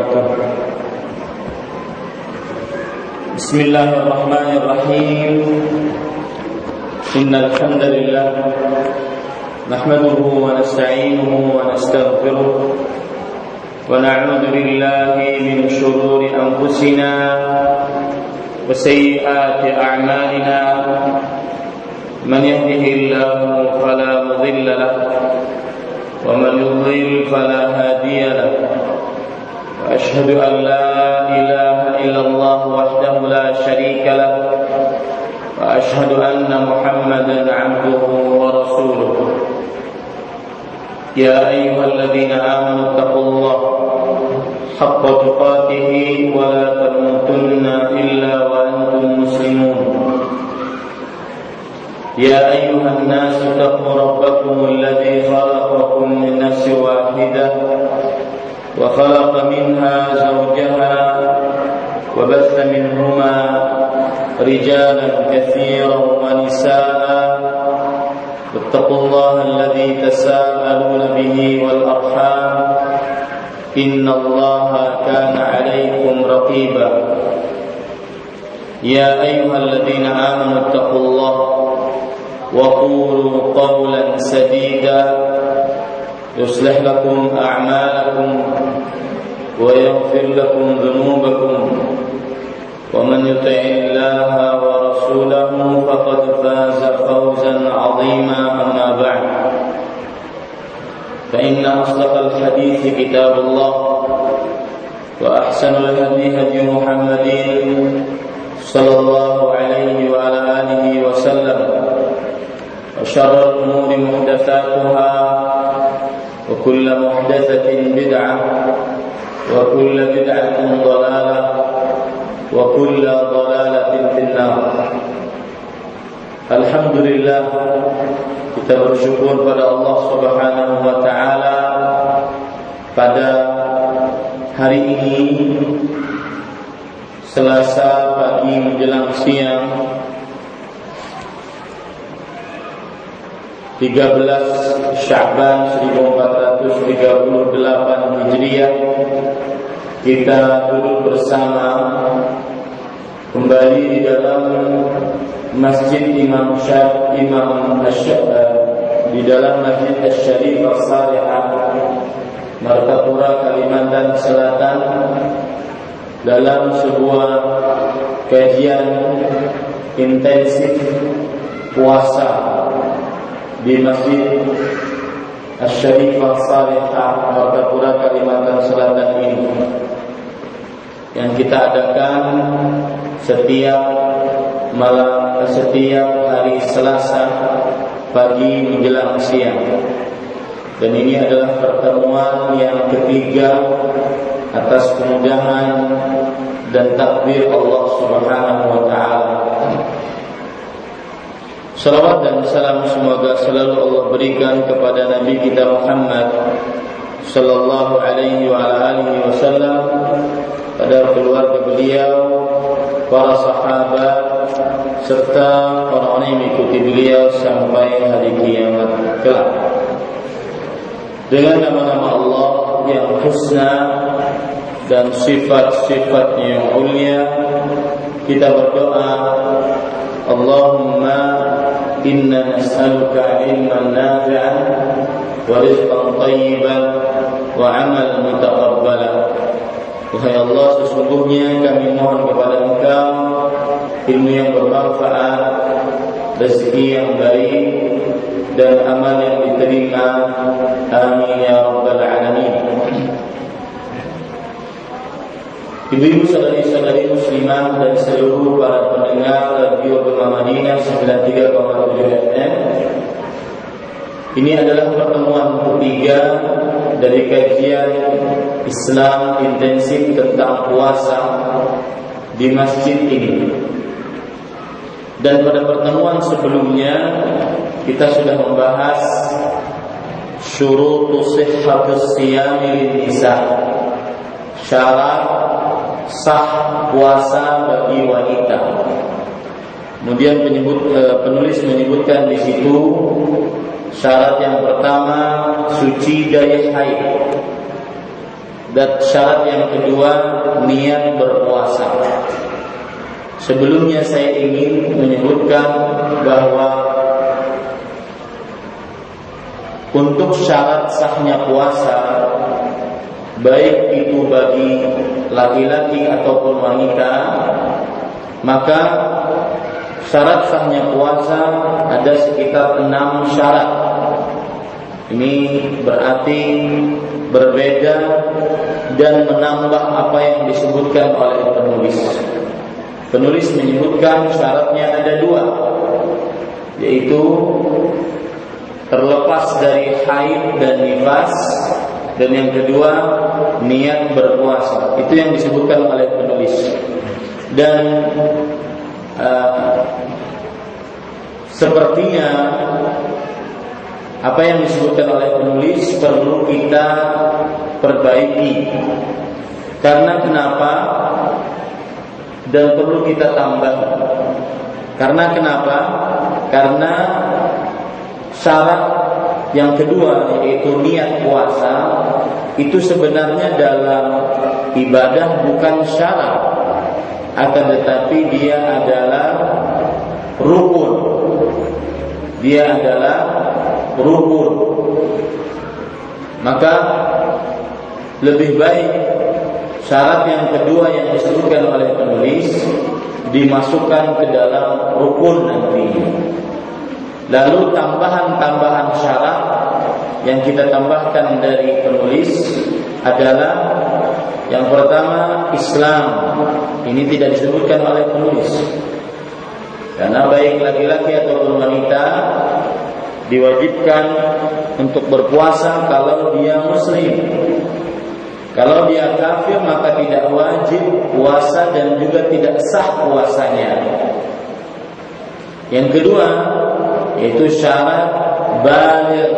وبركاته. بسم الله الرحمن الرحيم. إن الحمد لله نحمده ونستعينه ونستغفره ونعوذ بالله من شرور أنفسنا وسيئات أعمالنا. من يهده الله فلا مضل له ومن يضلل فلا هادي له. وأشهد أن لا إله إلا الله وحده لا شريك له وأشهد أن محمدا عبده ورسوله. يا أيها الذين آمنوا اتقوا الله حق تقاته ولا تموتن إلا وأنتم مسلمون. يا أيها الناس اتقوا ربكم الذي خلقكم من نفس واحدة وخلق منها زوجها وبث منهما رجالا كثيرا ونساء. واتقوا الله الذي تساءلون به والأرحام إن الله كان عليكم رقيبا. يا أيها الذين آمنوا اتقوا الله وقولوا قولا سديدا يصلح لكم أعمالكم ويغفر لكم ذنوبكم. ومن يطع الله ورسوله فقد فاز فوزا عظيما. أما بعد فإن أصدق الحديث كتاب الله وأحسن الهدي هدي محمد صلى الله عليه وعلى آله وسلم. وشر الأمور محدثاتها وكل محدثة بدعة وكل بدعة ضلالة وكل ضلالة في النار. Alhamdulillah, kita bersyukur pada Allah Subhanahu wa taala pada hari ini Selasa pagi menjelang siang 13 Sya'ban 1438 Hijriah, kita duduk bersama kembali di dalam Masjid Imam di dalam Masjid Asy-Syarif As-Salihah, Martapura, Kalimantan Selatan, dalam sebuah kajian intensif puasa di Masjid Asy-Syarif As-Salihah, Martapura, Kalimantan Selatan ini, yang kita adakan setiap hari Selasa pagi menjelang siang. Dan ini adalah pertemuan yang ketiga atas kemudahan dan takdir Allah Subhanahu wa taala. Salawat dan salam semoga selalu Allah berikan kepada Nabi kita Muhammad sallallahu alaihi wa alihi wasallam, pada keluarga beliau, para sahabat, serta orang-orang yang mengikuti beliau sampai hari kiamat kelak. Dengan nama-nama Allah yang husna dan sifat-sifatnya yang mulia, kita berdoa, Allahumma inna nas'aluka ilman nafi'an wa rizqan thayyiban wa 'amalan mutaqabbalan. Wahai Allah, sesungguhnya kami mohon kepada Engkau ilmu yang bermanfaat, rezeki yang baik, dan amal yang diterima. Amin ya rabbal alamin. Ibu-ibu, saudari-saudari muslimah dan seluruh para pendengar Radio Gema Madinah 93,7 FM, ini adalah pertemuan ketiga dari kajian Islam intensif tentang puasa di masjid ini. Dan pada pertemuan sebelumnya kita sudah membahas syurutu sihhatus siyami lin-nisa, syarat sah puasa bagi wanita. Kemudian penulis menyebutkan di situ syarat yang pertama, suci dari haid. Dan syarat yang kedua, niat berpuasa. Sebelumnya saya ingin menyebutkan bahwa untuk syarat sahnya puasa, baik itu bagi laki-laki ataupun wanita, maka syarat sahnya puasa ada sekitar 6 syarat. Ini berarti berbeda dan menambah apa yang disebutkan oleh penulis. Penulis menyebutkan syaratnya ada 2, yaitu terlepas dari haid dan nifas, dan yang kedua niat berpuasa. Itu yang disebutkan oleh penulis. Dan sepertinya apa yang disebutkan oleh penulis perlu kita perbaiki. Karena kenapa? Dan perlu kita tambah. Karena kenapa? Karena syarat yang kedua, yaitu niat puasa, itu sebenarnya dalam ibadah bukan syarat, akan tetapi dia adalah rukun. Dia adalah rukun. Maka lebih baik syarat yang kedua yang disebutkan oleh penulis dimasukkan ke dalam rukun nanti. Lalu tambahan-tambahan syarat yang kita tambahkan dari penulis adalah yang pertama Islam. Ini tidak disebutkan oleh penulis, karena baik laki-laki ataupun wanita diwajibkan untuk berpuasa kalau dia muslim. Kalau dia kafir maka tidak wajib puasa dan juga tidak sah puasanya. Yang kedua yaitu syarat baligh.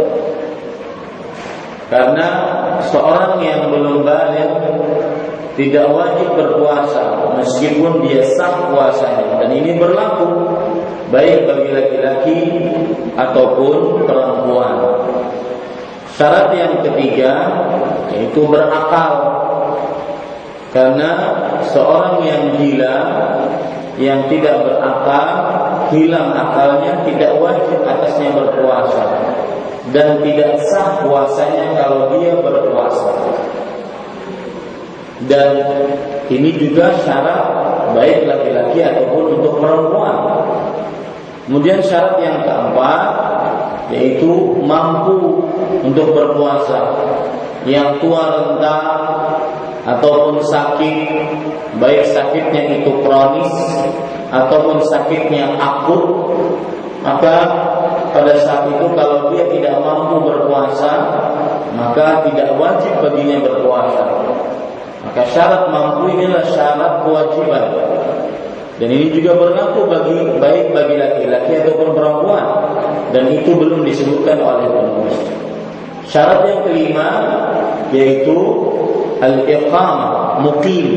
Karena seorang yang belum baligh tidak wajib berpuasa meskipun dia sah puasanya, dan ini berlaku baik bagi laki-laki ataupun perempuan. Syarat yang ketiga yaitu berakal. Karena seorang yang gila, yang tidak berakal, hilang akalnya, tidak wajib atasnya berpuasa, dan tidak sah puasanya kalau dia berpuasa. Dan ini juga syarat baik laki-laki ataupun untuk perempuan. Kemudian syarat yang keempat yaitu mampu untuk berpuasa. Yang tua renta ataupun sakit, baik sakitnya itu kronis ataupun sakitnya akut, maka pada saat itu kalau dia tidak mampu berpuasa, maka tidak wajib baginya berpuasa. Maka syarat mampu inilah syarat kewajiban. Dan ini juga berlaku baik bagi laki-laki ataupun perempuan, dan itu belum disebutkan oleh penulis. Syarat yang kelima yaitu al-iqamah, muqim.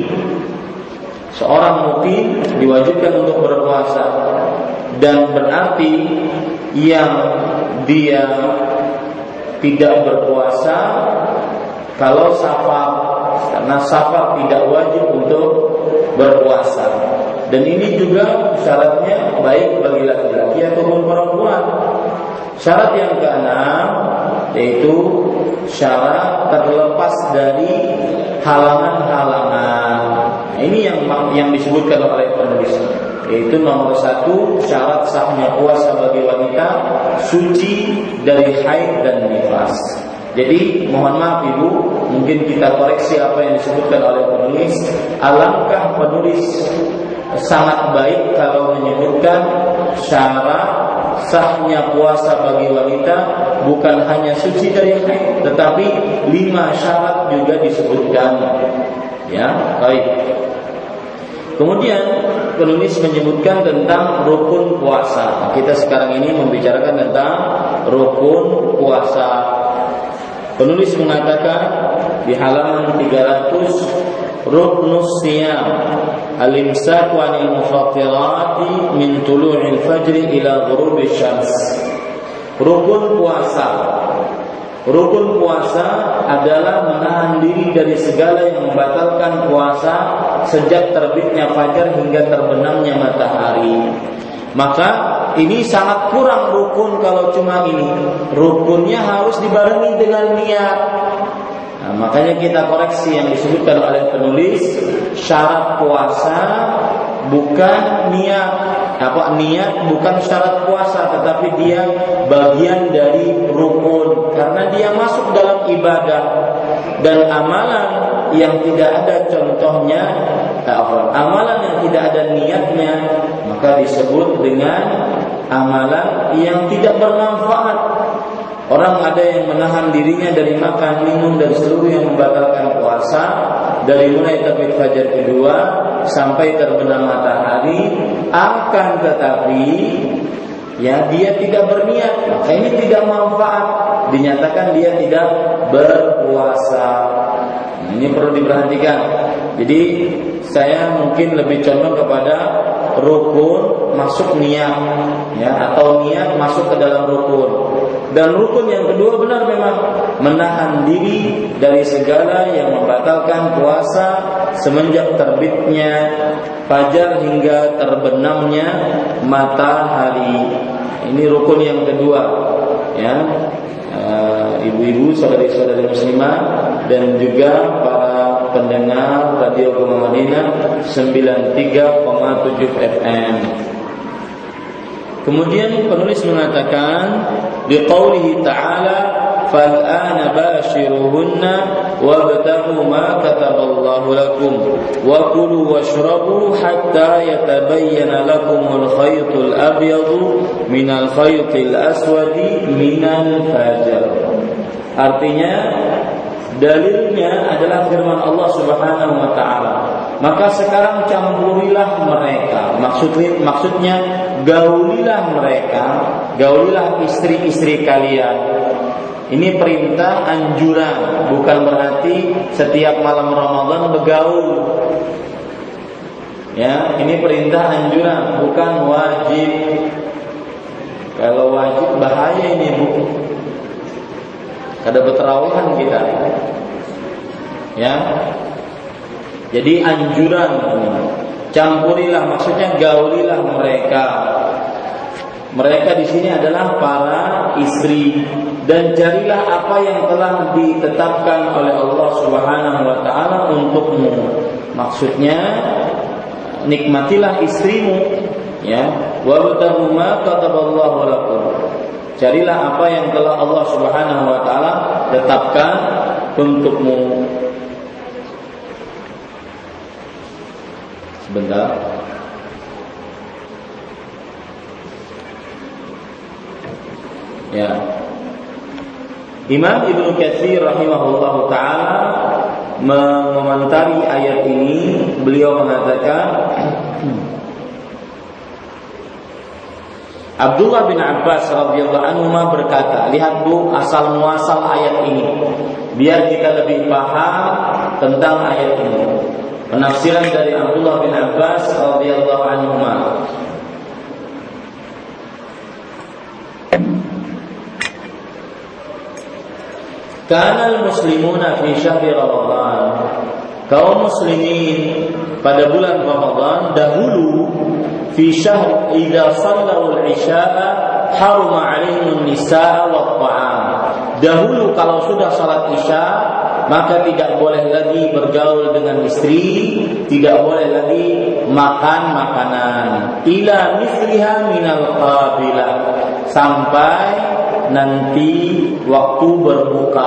Seorang muqim diwajibkan untuk berpuasa, dan berarti yang dia tidak berpuasa kalau safar, karena safar tidak wajib untuk berpuasa. Dan ini juga syaratnya baik bagi laki-laki ataupun perempuan. Syarat yang keenam yaitu syarat terlepas dari halangan-halangan. Ini yang disebutkan oleh penulis, yaitu nomor 1, syarat sahnya puasa bagi wanita suci dari haid dan nifas. Jadi mohon maaf Ibu, mungkin kita koreksi apa yang disebutkan oleh penulis. Alangkah penulis sangat baik kalau menyebutkan syarat sahnya puasa bagi wanita bukan hanya suci dari haid, tetapi 5 syarat juga disebutkan. Ya, baik. Kemudian penulis menyebutkan tentang rukun puasa. Kita sekarang ini membicarakan tentang rukun puasa. Penulis mengatakan di halaman 300, ruknus siyam al-imsaku 'anil mufattirati min tulu'il fajri ila ghurubish syams. Rukun puasa Rukun puasa adalah menahan diri dari segala yang membatalkan puasa sejak terbitnya fajar hingga terbenamnya matahari. Maka ini sangat kurang rukun kalau cuma ini. Rukunnya harus dibarengi dengan niat. Nah, makanya kita koreksi yang disebutkan oleh penulis, syarat puasa bukan niat. Niat bukan syarat puasa, tetapi dia bagian dari rukun karena dia masuk dalam ibadah. Dan amalan yang tidak ada contohnya, amalan yang tidak ada niatnya, maka disebut dengan amalan yang tidak bermanfaat. Orang ada yang menahan dirinya dari makan, minum, dari seluruh yang membatalkan puasa, dari mulai terbit fajar kedua sampai terbenam matahari, akan tetapi ya dia tidak berniat, maka ini tidak manfaat, dinyatakan dia tidak berpuasa. Ini perlu diperhatikan. Jadi saya mungkin lebih condong kepada rukun masuk niat, ya, atau niat masuk ke dalam rukun. Dan rukun yang kedua benar memang menahan diri dari segala yang membatalkan puasa semenjak terbitnya fajar hingga terbenamnya matahari. Ini rukun yang kedua, ya. Ibu-ibu, saudari-saudari muslimah, dan juga para pendengar Radio Gema Madinah 93,7 FM. Kemudian penulis mengatakan di qaulihi ta'ala fal'ana bashiruhunna wabtaghu ma kataballahu lakum wa kulu washrabu hatta yatabayyana lakumul khaytul abyadu minal khaytil aswadi minal fajr. Artinya dalilnya adalah firman Allah Subhanahu wa taala. Maka sekarang campurilah mereka. Maksudnya gaulilah mereka, gaulilah istri-istri kalian. Ini perintah anjuran, bukan berarti setiap malam Ramadan bergaul. Ya, ini perintah anjuran, bukan wajib. Kalau wajib bahaya ini, Bu. Kada berterawihan kita. Ya. Jadi anjuran, campurilah, maksudnya gaulilah mereka. Mereka di sini adalah para istri, dan carilah apa yang telah ditetapkan oleh Allah Subhanahu wa taala untukmu. Maksudnya nikmatilah istrimu, ya. Wabtaghu ma kataballahu lakum. Carilah apa yang telah Allah Subhanahu wa taala tetapkan untukmu. Sebentar. Ya. Imam Ibnu Katsir rahimahullahu taala mengomentari ayat ini, beliau mengatakan Abdullah bin Abbas radhiyallahu anhu berkata, lihat Bu asal muasal ayat ini biar kita lebih paham tentang ayat ini. Penafsiran dari Abdullah bin Abbas radhiyallahu anhu. Kanal muslimuna fi syahri Ramadan. Kaum muslimin pada bulan Ramadan dahulu fi syahr idza sallu al-isya'a haruma 'alaihim an-nisaa wa at-ta'am. Dahulu kalau sudah salat Isya maka tidak boleh lagi bergaul dengan istri, tidak boleh lagi makan makanan. Ila misliha minal qabilah, sampai nanti waktu berbuka.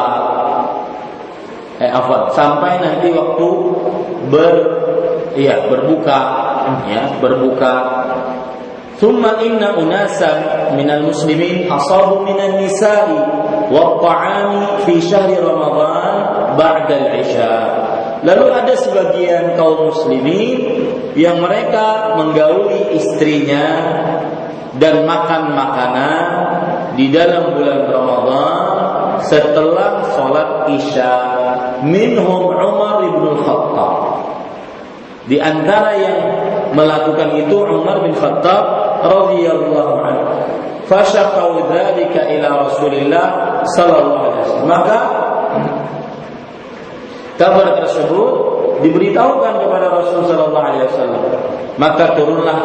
Sampai nanti waktu berbuka, ya, berbuka. Thumma inna unasan minal muslimin asabu minan nisa'i wa ta'ami fi syahri Ramadan ba'da al-isya. Lalu ada sebagian kaum muslimin yang mereka menggauli istrinya dan makan makanan di dalam bulan Ramadan setelah sholat Isya. Minhum Umar bin Khattab. Di antara yang melakukan itu Umar bin Khattab radhiyallahu anhu. Fashaqau dzalika ila Rasulillah sallallahu alaihi wasallam. Maka kabar tersebut diberitahukan kepada Rasul sallallahu alaihi wasallam. Maka turunlah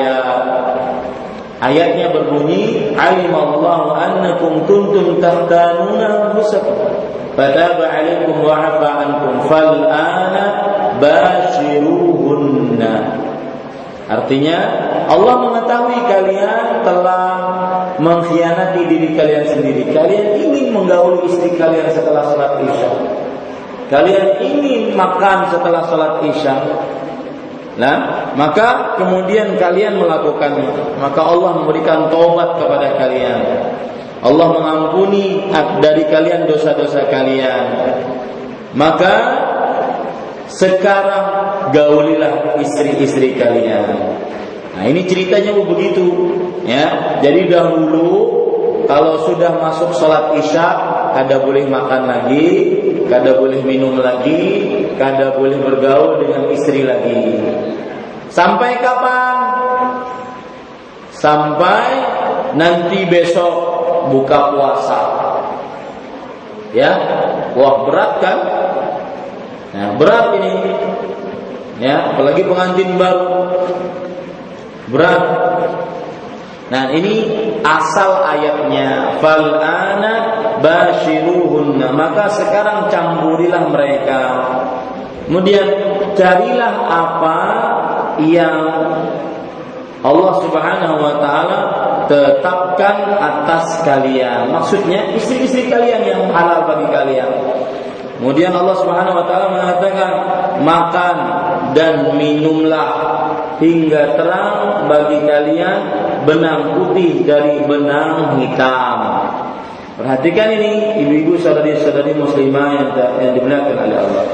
ayatnya berbunyi, alimallahu annakum kuntum tahtanuna anfusakum fataba alaikum wa afa ankum fal'ana bashiruhunna. Artinya Allah mengetahui kalian telah mengkhianati diri kalian sendiri. Kalian ingin menggauli istri kalian setelah salat Isya. Kalian ingin makan setelah salat Isya. Nah, maka kemudian kalian melakukannya. Maka Allah memberikan taubat kepada kalian. Allah mengampuni dari kalian dosa-dosa kalian. Maka sekarang gaulilah istri-istri kalian. Nah, ini ceritanya begitu, ya. Jadi dahulu kalau sudah masuk sholat Isya, kada boleh makan lagi, kada boleh minum lagi, kada boleh bergaul dengan istri lagi. Sampai kapan? Sampai nanti besok buka puasa. Ya, wah berat kan? Nah, berat ini. Ya, apalagi pengantin baru. Berat. Nah, ini asal ayatnya, fal ana bashiruhunna. Maka sekarang campurilah mereka. Kemudian carilah apa yang Allah Subhanahu wa taala tetapkan atas kalian. Maksudnya istri-istri kalian yang halal bagi kalian. Kemudian Allah Subhanahu wa taala mengatakan, makan dan minumlah hingga terang bagi kalian benang putih dari benang hitam. Perhatikan ini, ibu-ibu, saudari-saudari muslimah yang dimuliakan oleh Allah.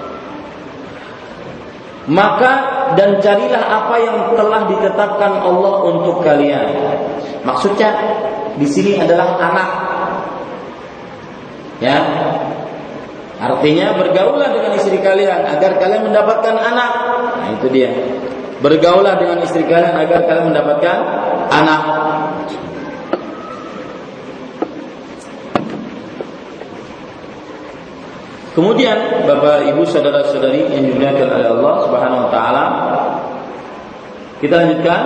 Maka dan carilah apa yang telah ditetapkan Allah untuk kalian. Maksudnya di sini adalah anak. Ya. Artinya bergaulah dengan istri kalian agar kalian mendapatkan anak. Nah, itu dia. Bergaulah dengan istri kalian agar kalian mendapatkan anak. Kemudian Bapak Ibu saudara-saudari yang dimuliakan oleh Allah Subhanahu wa taala, kita lanjutkan.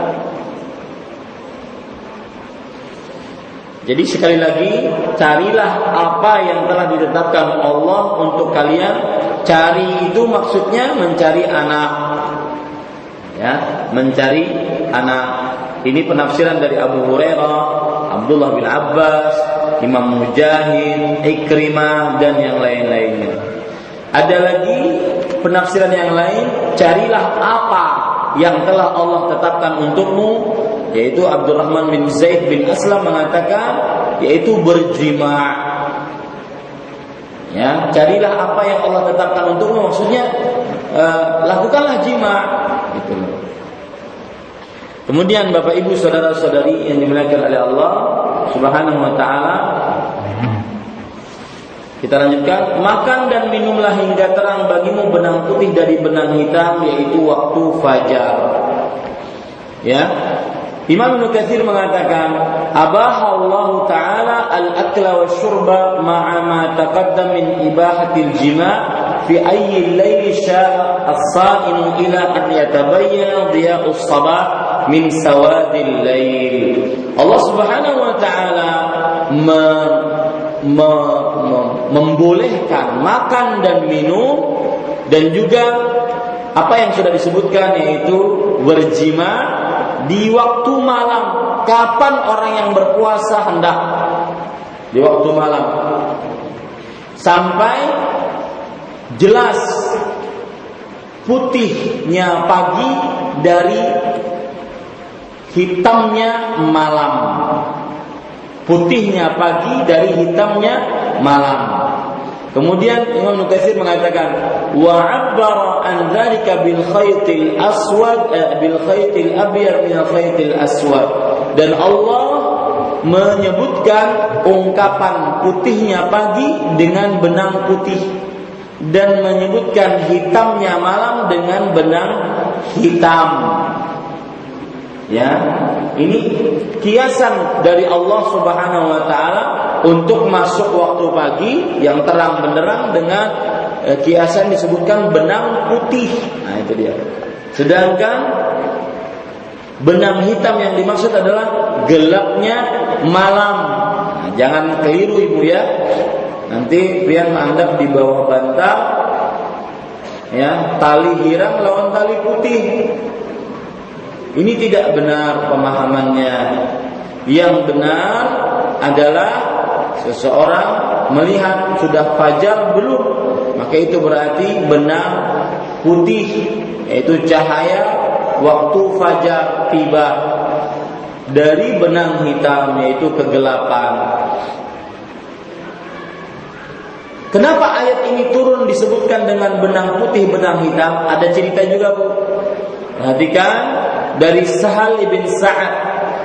Jadi sekali lagi, carilah apa yang telah ditetapkan Allah untuk kalian. Cari itu maksudnya mencari anak. Ya, mencari anak. Ini penafsiran dari Abu Hurairah, Abdullah bin Abbas, Imam Mujahid, Ikrimah, dan yang lain-lainnya. Ada lagi penafsiran yang lain, carilah apa yang telah Allah tetapkan untukmu, yaitu Abdurrahman bin Zaid bin Aslam mengatakan, yaitu berjima'. Ya, carilah apa yang Allah tetapkan untukmu, maksudnya lakukanlah jima'. Gitu. Kemudian Bapak Ibu saudara-saudari yang dimuliakan oleh Allah Subhanahu wa taala, kita lanjutkan. Makan dan minumlah hingga terang bagimu benang putih dari benang hitam, yaitu waktu fajar. Ya. Imam Ibnu Katsir mengatakan, abahallahu taala al-akla wasyurba ma'a ma taqaddam min ibahatil jima' fi ayyi al-laili sya'a as-sa'imu ila an yatabayyana dhiya'us sabah min sawadil lail. Allah Subhanahu wa taala membolehkan makan dan minum, dan juga apa yang sudah disebutkan, yaitu berjima di waktu malam. Kapan orang yang berpuasa hendak? Di waktu malam. Sampai jelas putihnya pagi dari hitamnya malam. Putihnya pagi dari hitamnya malam. Kemudian Imam Nukatsir mengatakan, wa 'abbara an dzalika bil khaytil aswad bil khaytil abyad min al khaytil aswad. Dan Allah menyebutkan ungkapan putihnya pagi dengan benang putih, dan menyebutkan hitamnya malam dengan benang hitam. Ya, ini kiasan dari Allah Subhanahu wa taala untuk masuk waktu pagi yang terang benderang dengan kiasan disebutkan benang putih. Nah itu dia. Sedangkan benang hitam yang dimaksud adalah gelapnya malam. Nah, jangan keliru ibu ya. Nanti pian mandap di bawah bantal, ya, tali hirang lawan tali putih. Ini tidak benar pemahamannya. Yang benar adalah seseorang melihat sudah fajar belum, maka itu berarti benang putih, yaitu cahaya waktu fajar tiba. Dari benang hitam, yaitu kegelapan. Kenapa ayat ini turun disebutkan dengan benang putih, benang hitam? Ada cerita juga, Bu. Perhatikan dari Sahal bin Sa'ad.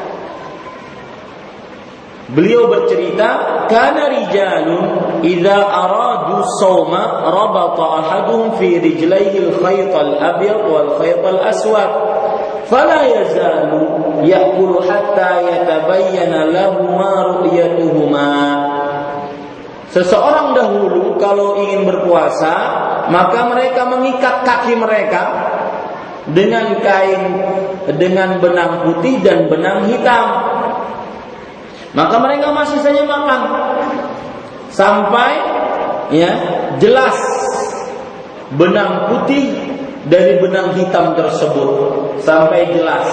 Beliau bercerita, kana rijalun idza aradu shauma rabata ahaduhum fi rijlaihi al-khayt al-abyad wal khayt al-aswad fala yazalu ya'kulu hatta yatabayyana lahu ma ru'yatuhuma. Seseorang dahulu kalau ingin berpuasa, maka mereka mengikat kaki mereka dengan kain dengan benang putih dan benang hitam. Maka mereka masih saja makan sampai ya jelas benang putih dari benang hitam tersebut, sampai jelas.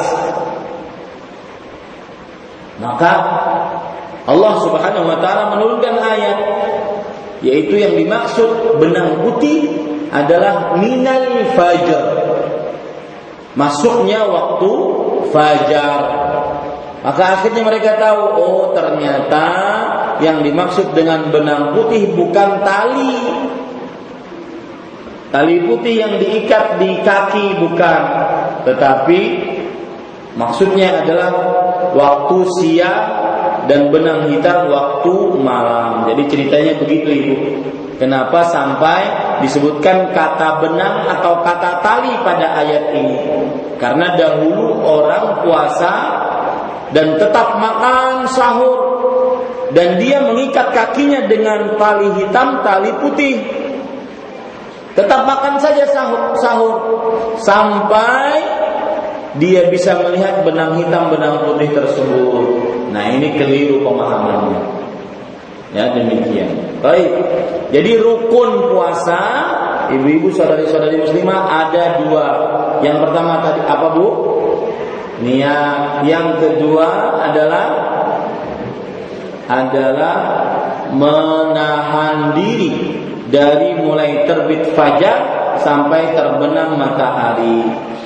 Maka Allah Subhanahu wa taala menurunkan ayat, yaitu yang dimaksud benang putih adalah minal fajar, masuknya waktu fajar. Maka akhirnya mereka tahu, oh ternyata yang dimaksud dengan benang putih bukan tali putih yang diikat di kaki, bukan, tetapi maksudnya adalah waktu siang dan benang hitam waktu malam. Jadi ceritanya begitu ibu. Kenapa sampai disebutkan kata benang atau kata tali pada ayat ini? Karena dahulu orang puasa dan tetap makan sahur, dan dia mengikat kakinya dengan tali hitam, tali putih. Tetap makan saja sahur sampai dia bisa melihat benang hitam, benang putih tersebut. Nah ini keliru pemahamannya. Ya demikian. Baik. Jadi rukun puasa, ibu-ibu, saudari-saudari muslimah, ada dua. Yang pertama tadi apa, Bu? Niat. Yang kedua adalah menahan diri dari mulai terbit fajar sampai terbenam matahari.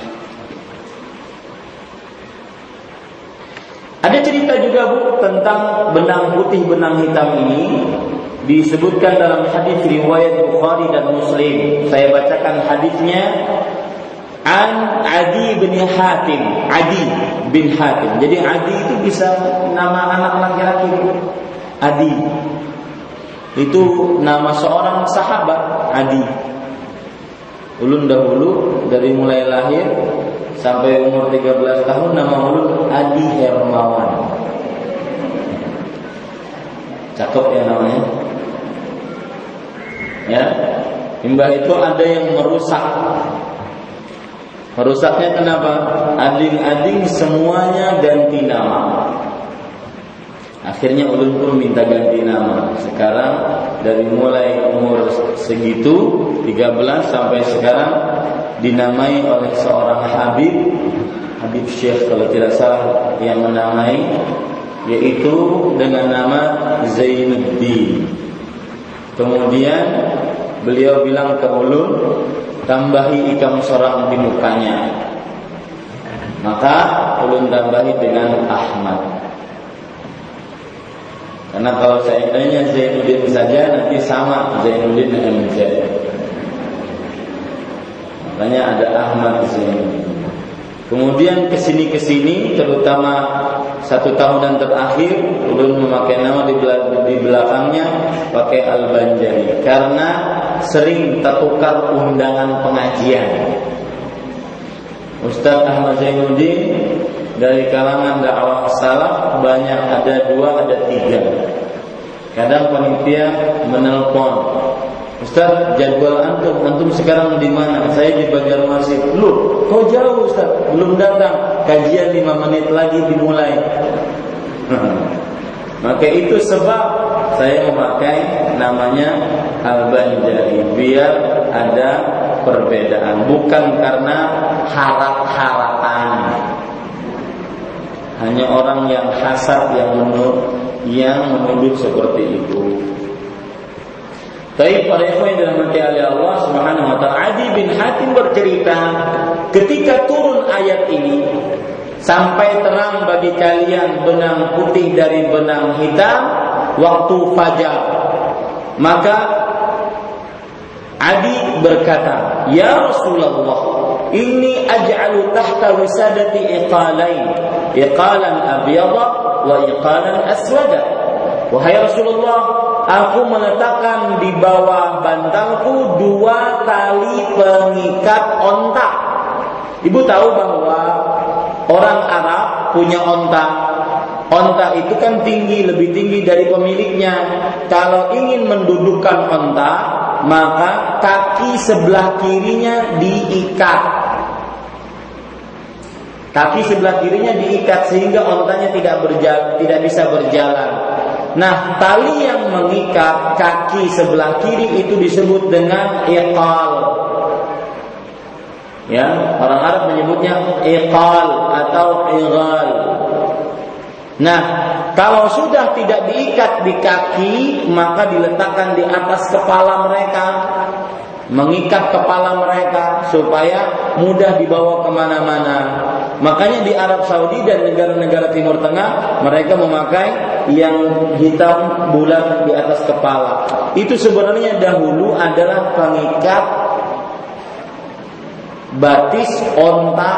Ada cerita juga, Bu, tentang benang putih, benang hitam ini disebutkan dalam hadis riwayat Bukhari dan Muslim. Saya bacakan hadisnya. An Adi bin Hatim. Adi bin Hatim. Jadi Adi itu bisa nama anak laki-laki. Adi itu nama seorang sahabat. Adi. Ulun dahulu dari mulai lahir sampai umur 13 tahun nama ulun Adi Hermawan. Cakep ya namanya. Ya. Imbah itu ada yang merusak. Merusaknya kenapa? Ading-ading semuanya ganti nama. Akhirnya ulun pun minta ganti nama. Sekarang dari mulai umur segitu 13 sampai sekarang dinamai oleh seorang Habib Syekh kalau tidak salah yang menamai, yaitu dengan nama Zainuddin. Kemudian beliau bilang ke ulun, tambahi ikam sorang di mukanya. Maka ulun tambahi dengan Ahmad. Karena kalau seandainya Zainuddin saja nanti sama Zainuddin dengan MZ. Makanya ada Ahmad Zainuddin. Kemudian kesini terutama 1 tahunan terakhir ulun memakai nama di belakangnya pakai Al-Banjari karena sering tertukar undangan pengajian. Ustaz Ahmad Zainuddin dari kalangan dakwah salaf banyak, ada 2, ada 3. Kadang panitia menelpon, Ustaz, jadwal antum sekarang di mana? Saya di Banjarmasin. Loh, kok jauh Ustaz? Belum datang. Kajian 5 menit lagi dimulai. Maka itu sebab saya memakai namanya Al-Banjari, biar ada perbedaan, bukan karena harap-harapan. Hanya orang yang hasad yang menuduh seperti itu. Tapi para ikhwan yang dirahmati oleh Allah Subhanahu wa taala, Adi bin Hatim bercerita, ketika turun ayat ini, sampai terang bagi kalian benang putih dari benang hitam waktu fajar, maka Adi berkata, "Ya Rasulullah, inni aj'alu tahta wisadati iqalain, iqalan abyada wa iqalan aswada." Wahai Rasulullah, aku meletakkan di bawah bantalku 2 tali pengikat onta. Ibu tahu bahwa orang Arab punya onta. Onta itu kan tinggi, lebih tinggi dari pemiliknya. Kalau ingin mendudukkan onta, maka kaki sebelah kirinya diikat. Kaki sebelah kirinya diikat sehingga ontanya tidak bisa berjalan. Nah, tali yang mengikat kaki sebelah kiri itu disebut dengan iqal. Ya, orang Arab menyebutnya iqal atau ighal. Nah, kalau sudah tidak diikat di kaki, maka diletakkan di atas kepala mereka, mengikat kepala mereka supaya mudah dibawa kemana-mana. Makanya di Arab Saudi dan negara-negara Timur Tengah mereka memakai yang hitam bulat di atas kepala. Itu sebenarnya dahulu adalah pengikat batis onta.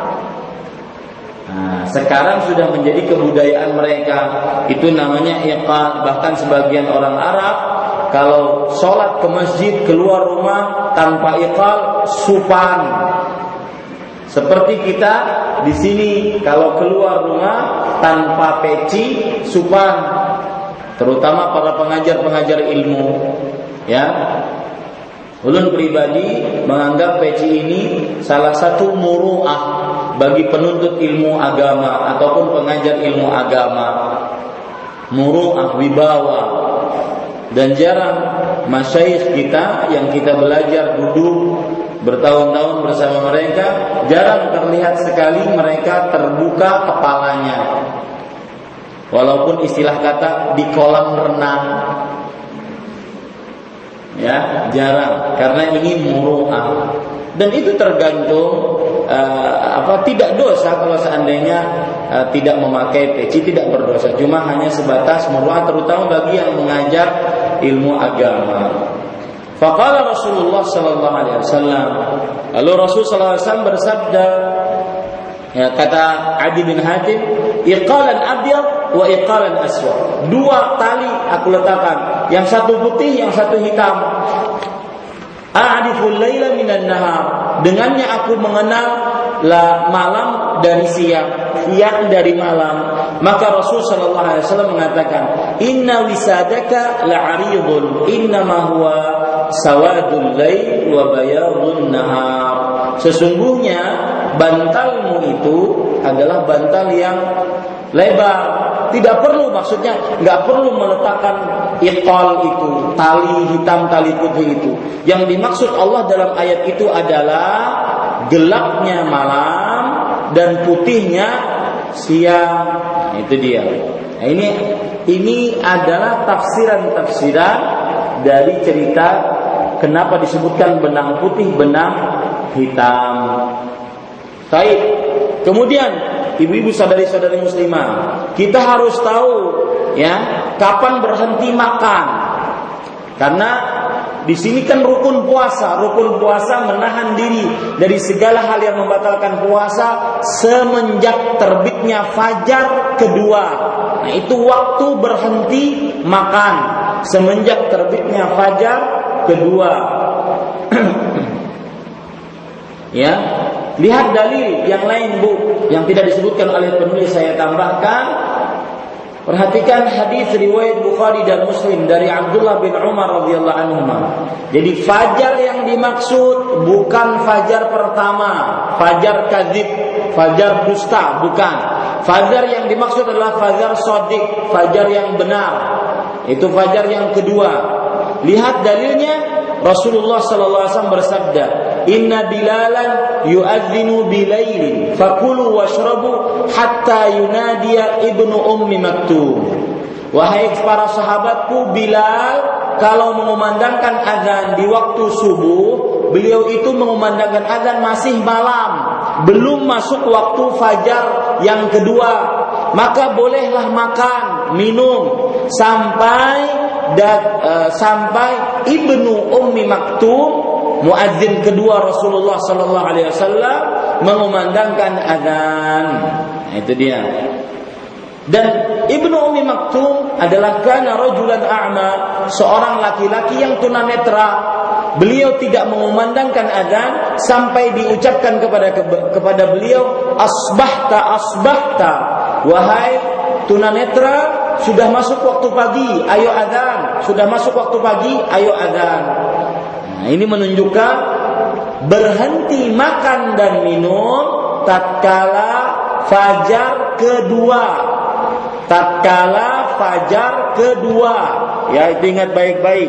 Nah, sekarang sudah menjadi kebudayaan mereka. Itu namanya iqal. Bahkan sebagian orang Arab kalau sholat ke masjid keluar rumah tanpa iqal, supan. Seperti kita di sini kalau keluar rumah tanpa peci, supan. Terutama para pengajar-pengajar ilmu, ya. Ulun pribadi menganggap peci ini salah satu muru'ah bagi penuntut ilmu agama ataupun pengajar ilmu agama. Muru'ah, wibawa. Dan jarang masyayikh kita yang kita belajar duduk bertahun-tahun bersama mereka, jarang terlihat sekali mereka terbuka kepalanya. Walaupun istilah kata di kolam renang, ya jarang, karena ini muru'ah. Dan itu tergantung tidak dosa kalau seandainya tidak memakai peci, tidak berdosa. Cuma hanya sebatas muru'ah, terutama bagi yang mengajar ilmu agama. Faqala Rasulullah sallallahu alaihi wasallam, lalu Rasul sallallahu alaihi wasallam bersabda, ya, kata Adi bin Hatim, iqalan abyad wa iqalan aswad. 2 tali aku letakkan, yang satu putih, yang satu hitam. A'riful laila minan nahar, dengannya aku mengenal malam dari siang dari malam. Maka Rasul sallallahu alaihi wasallam mengatakan, inna wisadaka la'aridun, innama huwa sawadul lail wa bayadun nahar. Sesungguhnya bantalmu itu adalah bantal yang lebar. Tidak perlu, maksudnya nggak perlu meletakkan iqal itu, tali hitam, tali putih itu. Yang dimaksud Allah dalam ayat itu adalah gelapnya malam dan putihnya siang. Itu dia. Nah, ini adalah tafsiran dari cerita kenapa disebutkan benang putih, benang hitam. Baik. Kemudian ibu-ibu saudari-saudari muslimah, kita harus tahu ya kapan berhenti makan. Karena di sini kan rukun puasa menahan diri dari segala hal yang membatalkan puasa semenjak terbitnya fajar kedua. Nah, itu waktu berhenti makan semenjak terbitnya fajar kedua. Ya, lihat dalil yang lain, Bu, yang tidak disebutkan oleh penulis, saya tambahkan. Perhatikan hadis riwayat Bukhari dan Muslim dari Abdullah bin Umar radhiyallahu anhu. Jadi fajar yang dimaksud bukan fajar pertama, fajar kadzib, fajar dusta, bukan. Fajar yang dimaksud adalah fajar shadiq, fajar yang benar. Itu fajar yang kedua. Lihat dalilnya, Rasulullah sallallahu alaihi wasallam bersabda, "Inna Bilalan yu'adzinu bilailin, fakulu washrabu hatta yunadiya ibnu ummi maktum." Wahai para sahabatku, Bilal kalau mengumandangkan azan di waktu subuh, beliau itu mengumandangkan azan masih malam, belum masuk waktu fajar yang kedua. Maka bolehlah makan, minum sampai ibnu ummi maktum, muadzin kedua Rasulullah sallallahu alaihi wasallam, mengumandangkan azan. Nah, itu dia. Dan ibnu ummi maktum adalah kana rajulan a'ma, seorang laki-laki yang tunanetra. Beliau tidak mengumandangkan azan sampai diucapkan kepada beliau, asbahta, wahai tunanetra, sudah masuk waktu pagi, ayo azan. Sudah masuk waktu pagi, ayo azan. Nah, ini menunjukkan berhenti makan dan minum tatkala fajar kedua. Tatkala fajar kedua. Ya, itu ingat baik-baik.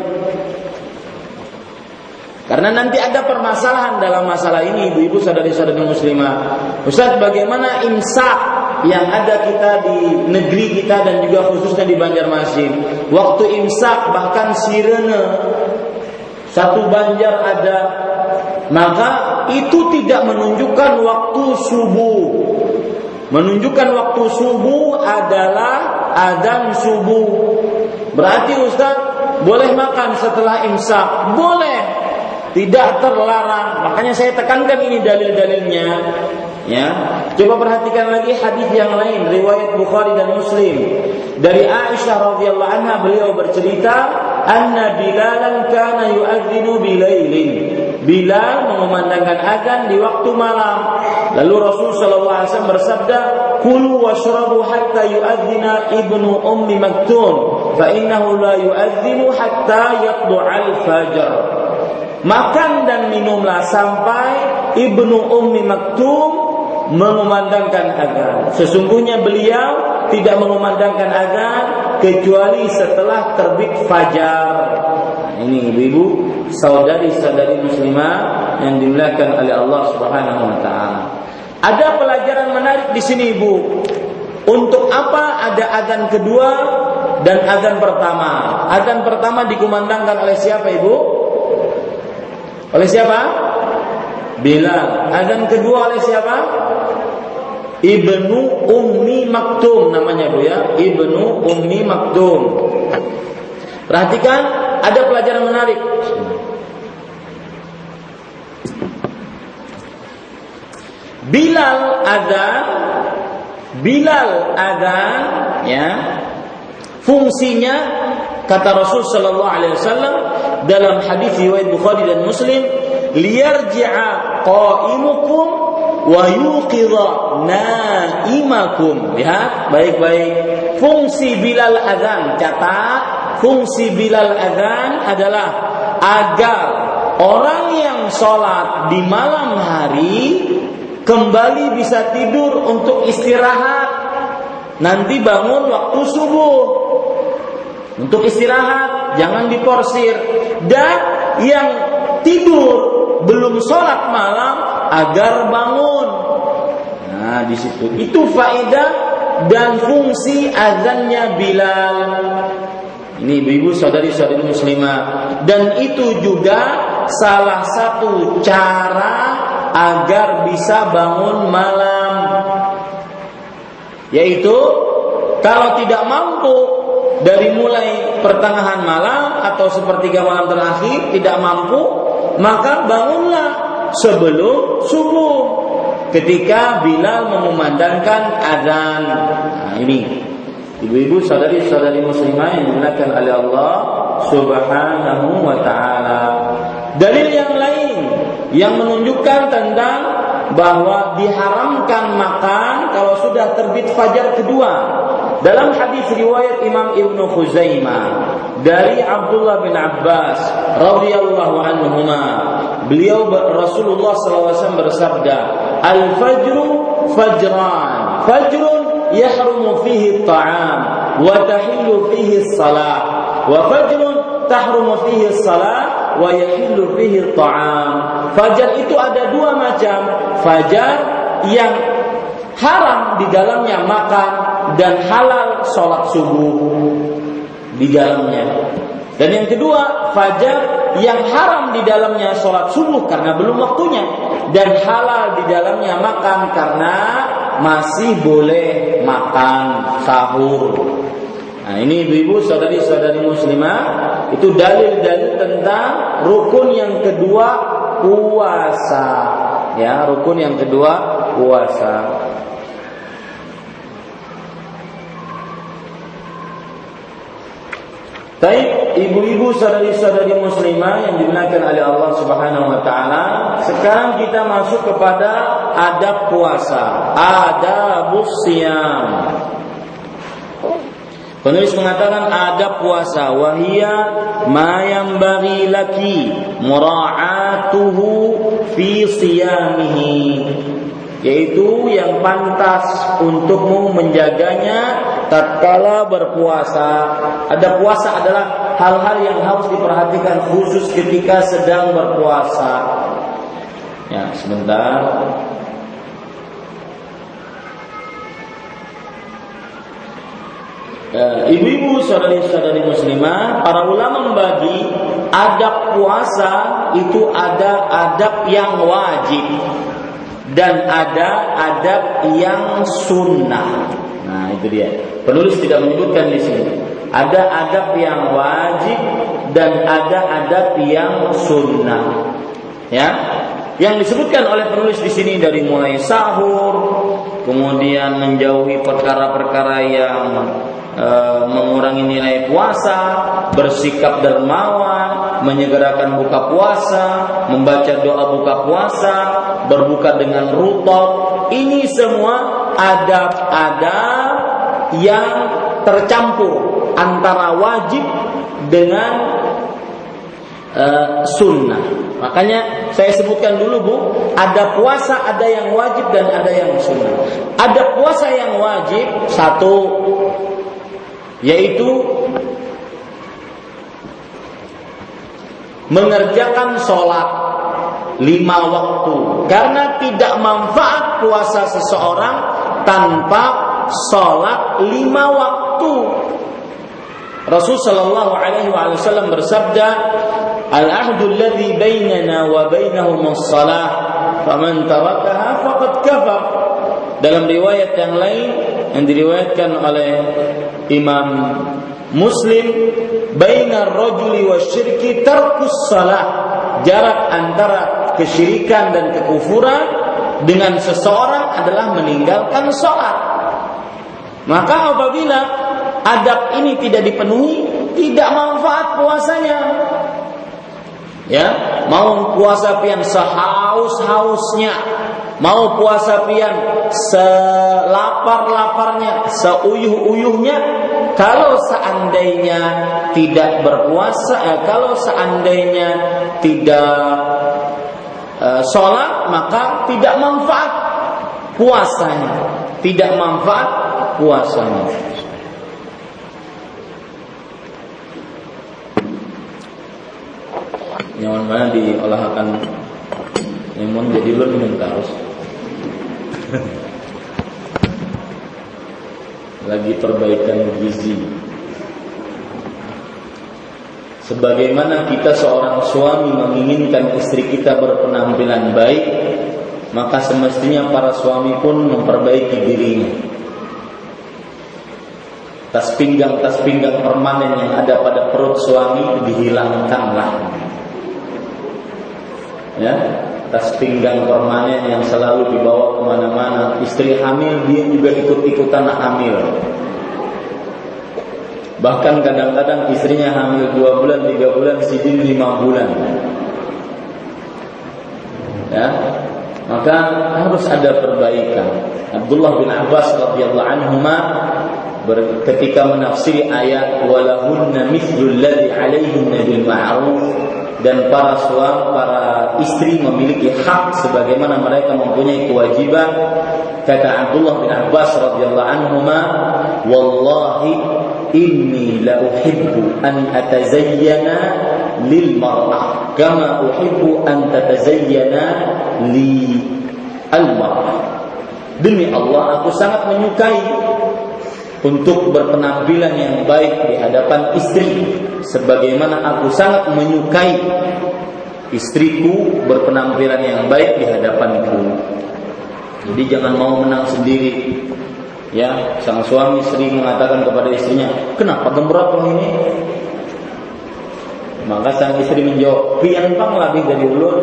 Karena nanti ada permasalahan dalam masalah ini, ibu-ibu, saudari-saudari muslimah. Ustaz, bagaimana imsak yang ada kita di negeri kita dan juga khususnya di Banjarmasin? Waktu imsak bahkan sirene satu Banjar ada, maka itu tidak menunjukkan waktu subuh. Menunjukkan waktu subuh adalah azan subuh. Berarti Ustaz boleh makan setelah imsak? Boleh. Tidak terlarang. Makanya saya tekankan ini dalil-dalilnya. Ya, coba perhatikan lagi hadis yang lain riwayat Bukhari dan Muslim dari Aisyah radhiyallahu anha. Beliau bercerita, anna Bilalan kana yu'adzinu bilailin. Bilal mengumandangkan azan di waktu malam. Lalu Rasul sallallahu alaihi wasallam bersabda, "Kulu washrabu hatta yu'adzina ibnu ummi maktum, fa innahu la yu'adzinu hatta yatlu'al fajr." Makan dan minumlah sampai ibnu ummi maktum mengumandangkan azan. Sesungguhnya beliau tidak mengumandangkan azan kecuali setelah terbit fajar. Ini ibu-ibu, saudari-saudari muslimah yang dimuliakan oleh Allah Subhanahu wa taala. Ada pelajaran menarik di sini, Ibu. Untuk apa ada azan kedua dan azan pertama? Azan pertama dikumandangkan oleh siapa, Ibu? Oleh siapa? Bilal. Azan kedua oleh siapa? Ibnu Ummi Maktum namanya, Bu, ya. Ibnu Ummi Maktum. Perhatikan, ada pelajaran menarik. Bilal azan, ya. Fungsinya kata Rasul sallallahu alaihi wasallam dalam hadis riwayat Bukhari dan Muslim, liyarji'a qa'imukum wa yuqidha naimakum. Lihat baik-baik. Fungsi Bilal azan, catat, fungsi Bilal azan adalah agar orang yang sholat di malam hari kembali bisa tidur untuk istirahat. Nanti bangun waktu subuh untuk istirahat, jangan diporsir. Dan yang tidur belum sholat malam agar bangun. Nah, di situ itu faedah dan fungsi azannya Bilal. Ini ibu-ibu, saudari-saudari muslimah, dan itu juga salah satu cara agar bisa bangun malam, yaitu kalau tidak mampu dari mulai pertengahan malam atau sepertiga malam terakhir tidak mampu, maka bangunlah sebelum subuh ketika Bilal mengumandangkan azan. Nah, ini ibu-ibu, saudari-saudari muslimah yang dimuliakan oleh Allah Subhanahu wa taala. Dalil yang lain yang menunjukkan tentang bahwa diharamkan makan kalau sudah terbit fajar kedua. Dalam hadis riwayat Imam Ibnu Khuzaimah dari Abdullah bin Abbas radhiyallahu anhuma, beliau Rasulullah SAW bersabda, "Al-fajru fajran, fajrun yahrumu fihi at-ta'am wa tahillu fihi as-salah, wa fajrun tahrumu fihi as-salah wa yahillu fihi at-ta'am." Fajar itu ada dua macam. Fajar yang haram di dalamnya makan dan halal sholat subuh di dalamnya. Dan yang kedua, fajar yang haram di dalamnya sholat subuh karena belum waktunya, dan halal di dalamnya makan karena masih boleh makan sahur. Nah, ini ibu-ibu, saudari-saudari muslimah, itu dalil-dalil tentang rukun yang kedua, puasa. Ya, rukun yang kedua, puasa. Baik, ibu-ibu, saudari-saudari muslimah yang dimuliakan oleh Allah Subhanahu wa taala, sekarang kita masuk kepada adab puasa, adabus shiyam. Penulis mengatakan adab puasa, wahia ma yanbaghi laki mura'atuhu fi shiyamihi, yaitu yang pantas untukmu menjaganya tatkala berpuasa. Ada puasa adalah hal-hal yang harus diperhatikan khusus ketika sedang berpuasa. Ya, sebentar. Ibu-ibu, saudari-saudari muslimah, para ulama membagi adab puasa itu ada adab yang wajib dan ada adab yang sunnah. Nah, itu dia. Penulis tidak menyebutkan di sini. Ada adab yang wajib dan ada adab yang sunnah. Ya, yang disebutkan oleh penulis di sini dari mulai sahur, kemudian menjauhi perkara-perkara yang mengurangi nilai puasa, bersikap dermawan, menyegerakan buka puasa, membaca doa buka puasa, berbuka dengan rutab. Ini semua adab-adab yang tercampur antara wajib dengan sunnah. Makanya saya sebutkan dulu, Bu, ada puasa, ada yang wajib dan ada yang sunnah. Ada puasa yang wajib, satu, yaitu mengerjakan sholat 5 waktu, karena tidak manfaat puasa seseorang tanpa sholat 5 waktu. Rasul sallallahu alaihi wasallam bersabda, "Al-ahdu alladhi bainana wa bainahum as-salah, faman tarakaha faqad kafar." Dalam riwayat yang lain yang diriwayatkan oleh Imam Muslim, "Bainar rajuli wasyirki tarkus salah." Jarak antara kesyirikan dan kekufuran dengan seseorang adalah meninggalkan salat. Maka apabila adab ini tidak dipenuhi, tidak manfaat puasanya. Ya, mau puasa pian sehaus-hausnya, mau puasa pian selapar-laparnya, seuyuh-uyuhnya, kalau seandainya tidak berpuasa, kalau seandainya tidak sholat, maka tidak manfaat puasanya, tidak manfaat puasanya. Nyaman mana diolahkan lemon jadi ulun minum terus. Lagi perbaikan gizi. Sebagaimana kita seorang suami menginginkan istri kita berpenampilan baik, maka semestinya para suami pun memperbaiki dirinya. Tas pinggang permanen yang ada pada perut suami dihilangkanlah. Ya, tas pinggang permanen yang selalu dibawa kemana-mana. Istri hamil, dia juga ikut-ikutan hamil. Bahkan kadang-kadang istrinya hamil 2 bulan, 3 bulan, sidin 5 bulan. Ya, maka harus ada perbaikan. Abdullah bin Abbas radhiyallahu anhuma ketika menafsiri ayat walahunna mithlul ladzi 'alaihinna bil ma'ruf, dan para istri memiliki hak sebagaimana mereka mempunyai kewajiban, kata Abdullah bin Abbas radhiyallahu anhuma, wallahi inni la uhibbu an atazayyana lil mar'ah kama uhibbu an tatazayyana li al mar'ah. Demi Allah, aku sangat menyukai untuk berpenampilan yang baik di hadapan istri sebagaimana aku sangat menyukai istriku berpenampilan yang baik di hadapanku. Jadi jangan mau menang sendiri. Ya, sang suami sering mengatakan kepada istrinya, "Kenapa gembrot ini?" Maka sang istri menjawab, "Pian pang lebih dari ulun."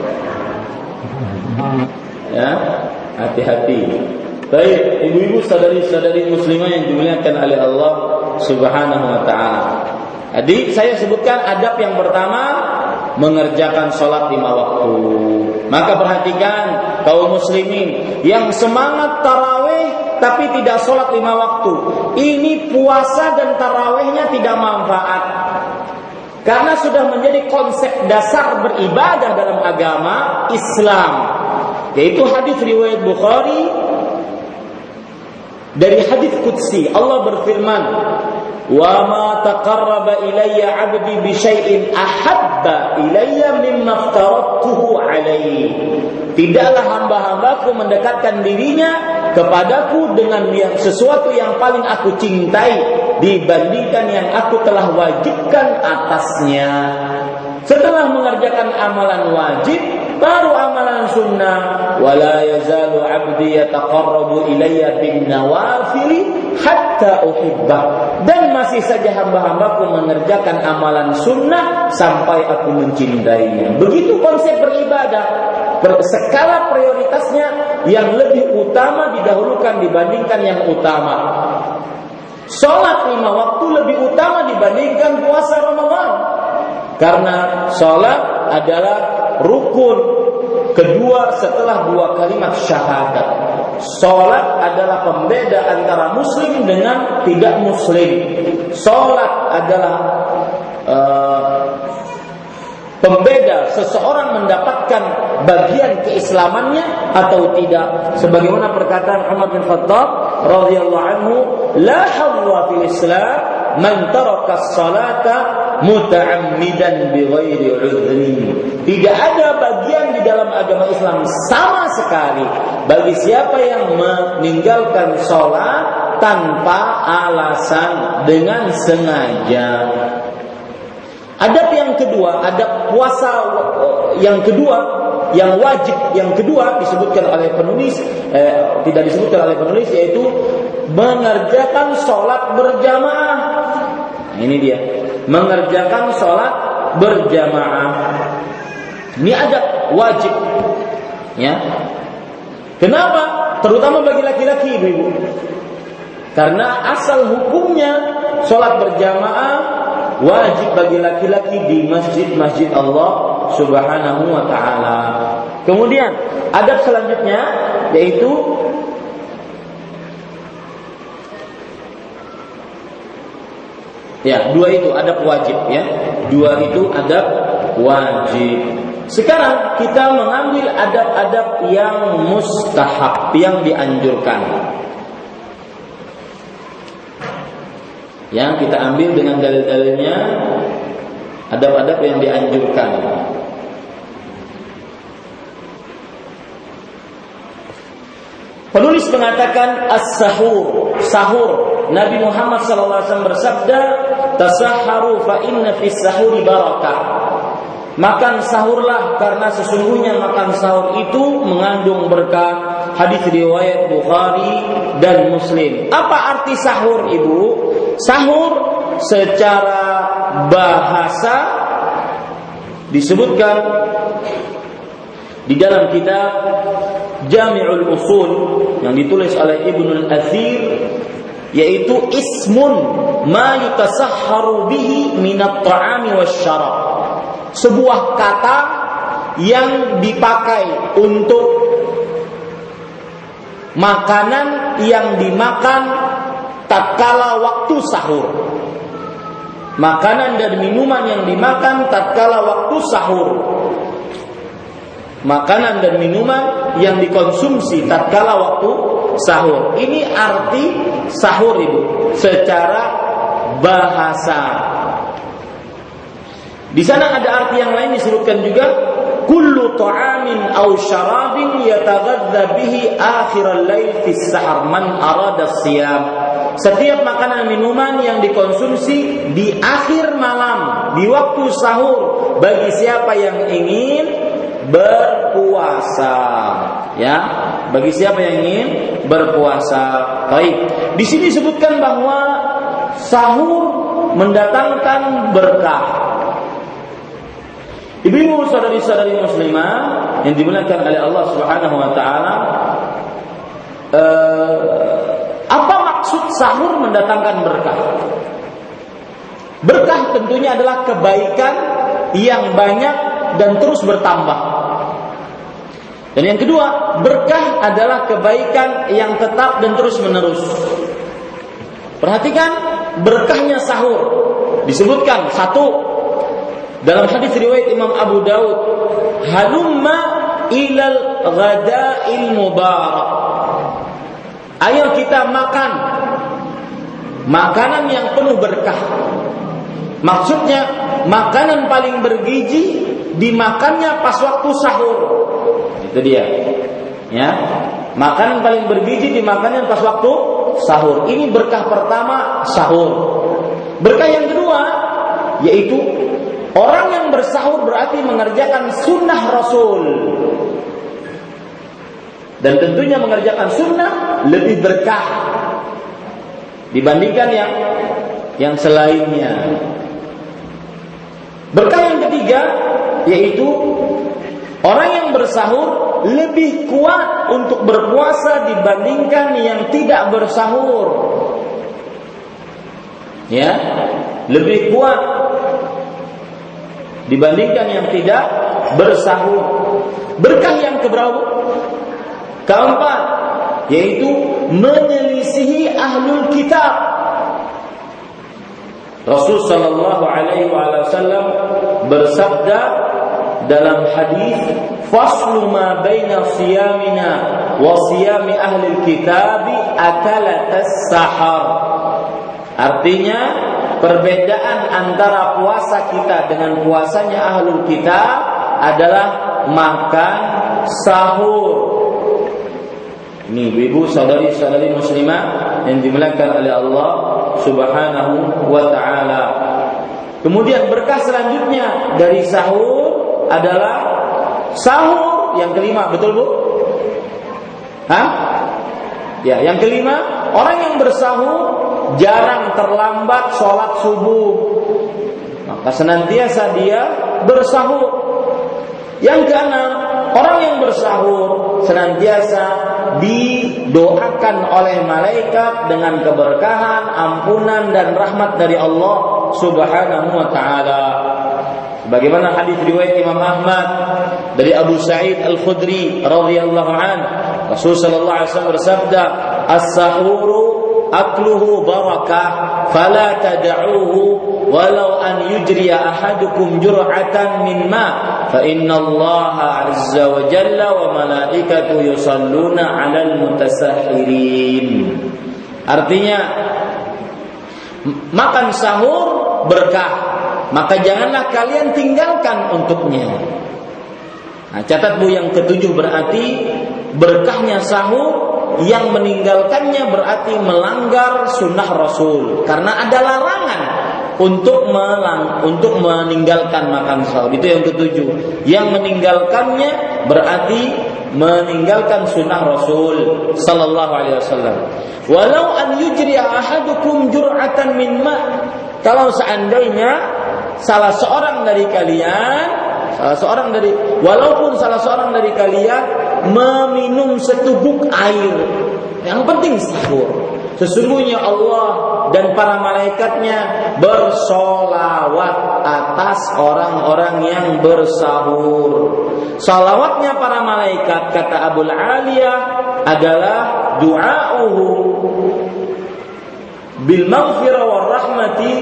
Ya, hati-hati. Baik, ibu-ibu sadari-sadari muslimah yang dimuliakan oleh Allah Subhanahu wa taala. Jadi saya sebutkan adab yang pertama, mengerjakan sholat 5 waktu. Maka perhatikan kaum muslimin yang semangat tarawih tapi tidak sholat 5 waktu. Ini puasa dan tarawihnya tidak manfaat. Karena sudah menjadi konsep dasar beribadah dalam agama Islam, yaitu hadis riwayat Bukhari dari hadis qudsi. Allah berfirman, "Wa ma taqarraba ilayya 'abdi bi syai'in ahabba ilayya mimma aftaratuhu 'alaihi." Tidaklah hamba-hambaku mendekatkan dirinya kepadaku dengan sesuatu yang paling aku cintai dibandingkan yang aku telah wajibkan atasnya. Setelah mengerjakan amalan wajib, baru amalan sunnah. Wala yazalu 'abdi yataqarrabu ilayya bin nawafili hatta uhibbah. Dan masih saja hamba-hambaku mengerjakan amalan sunnah sampai aku mencintainya. Begitu konsep beribadah. Skala prioritasnya yang lebih utama didahulukan dibandingkan yang utama. Sholat 5 waktu lebih utama dibandingkan puasa Ramadan. Karena sholat adalah rukun kedua setelah 2 kalimat syahadat. Sholat adalah pembeda antara muslim dengan tidak muslim. Sholat adalah pembeda seseorang mendapatkan bagian keislamannya atau tidak. Sebagaimana perkataan Umar bin Khattab radhiyallahu anhu, la hawwa fil Islam man taraka as-salata muta'ammidan bighairi 'udhrin. Tidak ada bagian di dalam agama Islam sama sekali bagi siapa yang meninggalkan salat tanpa alasan dengan sengaja. Adab yang kedua, adab puasa yang kedua, yang wajib yang kedua disebutkan oleh penulis, tidak disebutkan oleh penulis, yaitu mengerjakan sholat berjamaah. Ini dia, mengerjakan sholat berjamaah. Ini adab wajib, ya. Kenapa? Terutama bagi laki-laki, ibu-ibu. Karena asal hukumnya sholat berjamaah wajib bagi laki-laki di masjid-masjid Allah Subhanahu wa taala. Kemudian adab selanjutnya yaitu dua itu adab wajib, ya. Dua itu adab wajib. Sekarang kita mengambil adab-adab yang mustahab, yang dianjurkan. Yang kita ambil dengan dalil-dalilnya, adab-adab yang dianjurkan. Penulis mengatakan as-sahur, sahur. Nabi Muhammad SAW bersabda, "Tasahharu fa inna fis sahuri barakah." Makan sahurlah karena sesungguhnya makan sahur itu mengandung berkah. Hadis riwayat Bukhari dan Muslim. Apa arti sahur, Ibu? Sahur secara bahasa disebutkan di dalam kitab Jami'ul Usul yang ditulis oleh Ibnul Athir, yaitu ismun ma yutasahharu bihi minat ta'ami wasyarab. Sebuah kata yang dipakai untuk makanan yang dimakan tatkala waktu sahur. Makanan dan minuman yang dimakan tatkala waktu sahur. Makanan dan minuman yang dikonsumsi tatkala waktu sahur. Ini arti sahur, Ibu, secara bahasa. Di sana ada arti yang lain disebutkan juga, kullu ta'amin aw syarabin yataghadza bihi akhiral lail fi sahar man arada siyam. Setiap makanan minuman yang dikonsumsi di akhir malam, di waktu sahur, bagi siapa yang ingin berpuasa, ya, bagi siapa yang ingin berpuasa. Baik, di sini disebutkan bahwa sahur mendatangkan berkah. Ibu-ibu, saudari-saudari muslimah yang dimuliakan oleh Allah Subhanahu wa taala, apa maksud sahur mendatangkan berkah? Berkah tentunya adalah kebaikan yang banyak dan terus bertambah. Dan yang kedua, berkah adalah kebaikan yang tetap dan terus menerus. Perhatikan berkahnya sahur. Disebutkan satu dalam hadis riwayat Imam Abu Daud, halumma ilal ghada'il mubarak. Ayo kita makan makanan yang penuh berkah. Maksudnya makanan paling bergizi dimakannya pas waktu sahur. Itu dia. Ya. Makanan paling bergizi dimakannya pas waktu sahur. Ini berkah pertama, sahur. Berkah yang kedua yaitu orang yang bersahur berarti mengerjakan sunnah Rasul. Dan tentunya mengerjakan sunnah lebih berkah dibandingkan yang selainnya. Berkah yang ketiga yaitu orang yang bersahur lebih kuat untuk berpuasa dibandingkan yang tidak bersahur. Ya, lebih kuat dibandingkan yang tidak bersahur. Berkah yang keberapa? Keempat, yaitu menyelisihi ahlul kitab. Rasul sallallahu alaihi wasallam bersabda dalam hadis, faslu ma baina siyamina wa siyami ahlil kitabi akalatas sahar. Artinya perbedaan antara puasa kita dengan puasanya ahlul kitab adalah makan sahur. Ini ibu saudari-saudari muslimah yang dimuliakan oleh Allah Subhanahu wa taala. Kemudian berkah selanjutnya dari sahur adalah sahur yang kelima, betul Bu? Hah? Ya, yang kelima, orang yang bersahur jarang terlambat sholat subuh, maka senantiasa dia bersahur. Yang keenam, orang yang bersahur senantiasa didoakan oleh malaikat dengan keberkahan, ampunan dan rahmat dari Allah Subhanahu wa taala. Bagaimana hadis riwayat Imam Ahmad dari Abu Sa'id Al-Khudri radhiyallahu anhu, Rasul sallallahu alaihi wasallam bersabda, "As-sahuru akluhu barakah, fala tad'uhu walau an yujriya ahadukum jur'atan min ma, fa inna Allah azza wa jalla wa malaikatu yusalluna 'alal mutasahhirin." Artinya makan sahur berkah, maka janganlah kalian tinggalkan untuknya. Nah, catat Bu, yang ketujuh berarti berkahnya sahur, yang meninggalkannya berarti melanggar sunnah Rasul, karena ada larangan untuk meninggalkan makan sahur. Itu yang ketujuh. Yang meninggalkannya berarti meninggalkan sunnah Rasul sallallahu alaihi wasallam. Walau an yujri ahadukum jur'atan min ma, kalau seandainya salah seorang dari kalian meminum seteguk air, yang penting sahur. Sesungguhnya Allah dan para malaikatnya bersolawat atas orang-orang yang bersahur. Salawatnya para malaikat, kata Abul Aliyah, adalah du'a'uhu bil maghfirah war rahmati,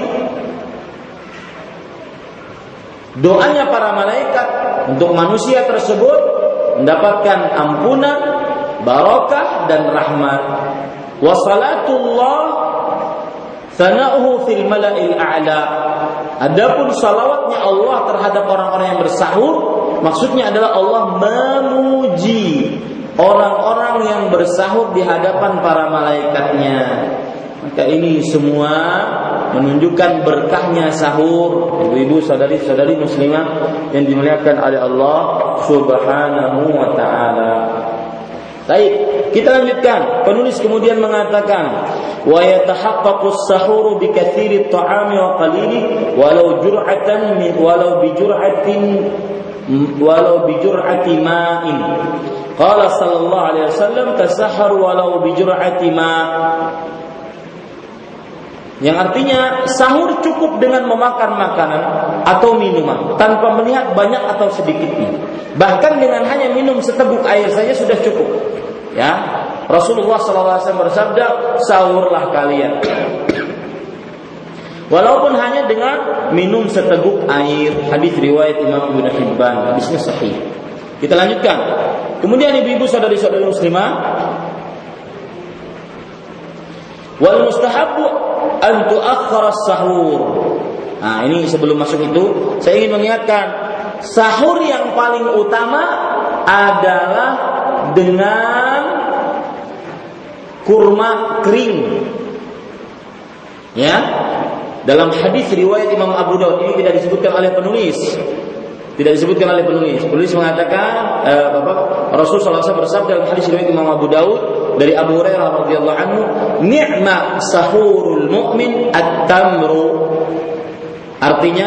doanya para malaikat untuk manusia tersebut mendapatkan ampunan, barakah dan rahmat. Wa salatullah sana'uhu fil mala'il a'la. Adapun salawatnya Allah terhadap orang-orang yang bersahur, maksudnya adalah Allah memuji orang-orang yang bersahur di hadapan para malaikatnya. Maka ini semua menunjukkan berkahnya sahur. Ibu-ibu, saudari-saudari muslimah yang dimuliakan oleh Allah Subhanahu wa taala. Baik, kita lanjutkan. Penulis kemudian mengatakan, wa yatahaqqaqu as-sahuru bi katsiri at-ta'ami wa qalili walau bi jur'ati ma'in. Qala sallallahu alaihi wasallam tasahharu walau bi jur'ati ma'. Yang artinya sahur cukup dengan memakan makanan atau minuman tanpa melihat banyak atau sedikitnya. Bahkan dengan hanya minum seteguk air saja sudah cukup. Ya, Rasulullah SAW bersabda, sahurlah kalian. Walaupun hanya dengan minum seteguk air. Hadis riwayat Imam Ibnu Hibban, hadisnya sahih. Kita lanjutkan. Kemudian ibu-ibu saudari-saudari muslimah, wal mustahabbu an tu'akhkhara as-sahur. Nah, ini sebelum masuk itu saya ingin mengingatkan, sahur yang paling utama adalah dengan kurma kering. Ya. Dalam hadis riwayat Imam Abu Daud, ini tidak disebutkan oleh penulis. Penulis mengatakan Rasulullah SAW bersabda dalam hadis riwayat Imam Abu Daud dari Abu Hurairah radhiyallahu anhu, "Ni'ma sahurul mu'min at-tamru." Artinya,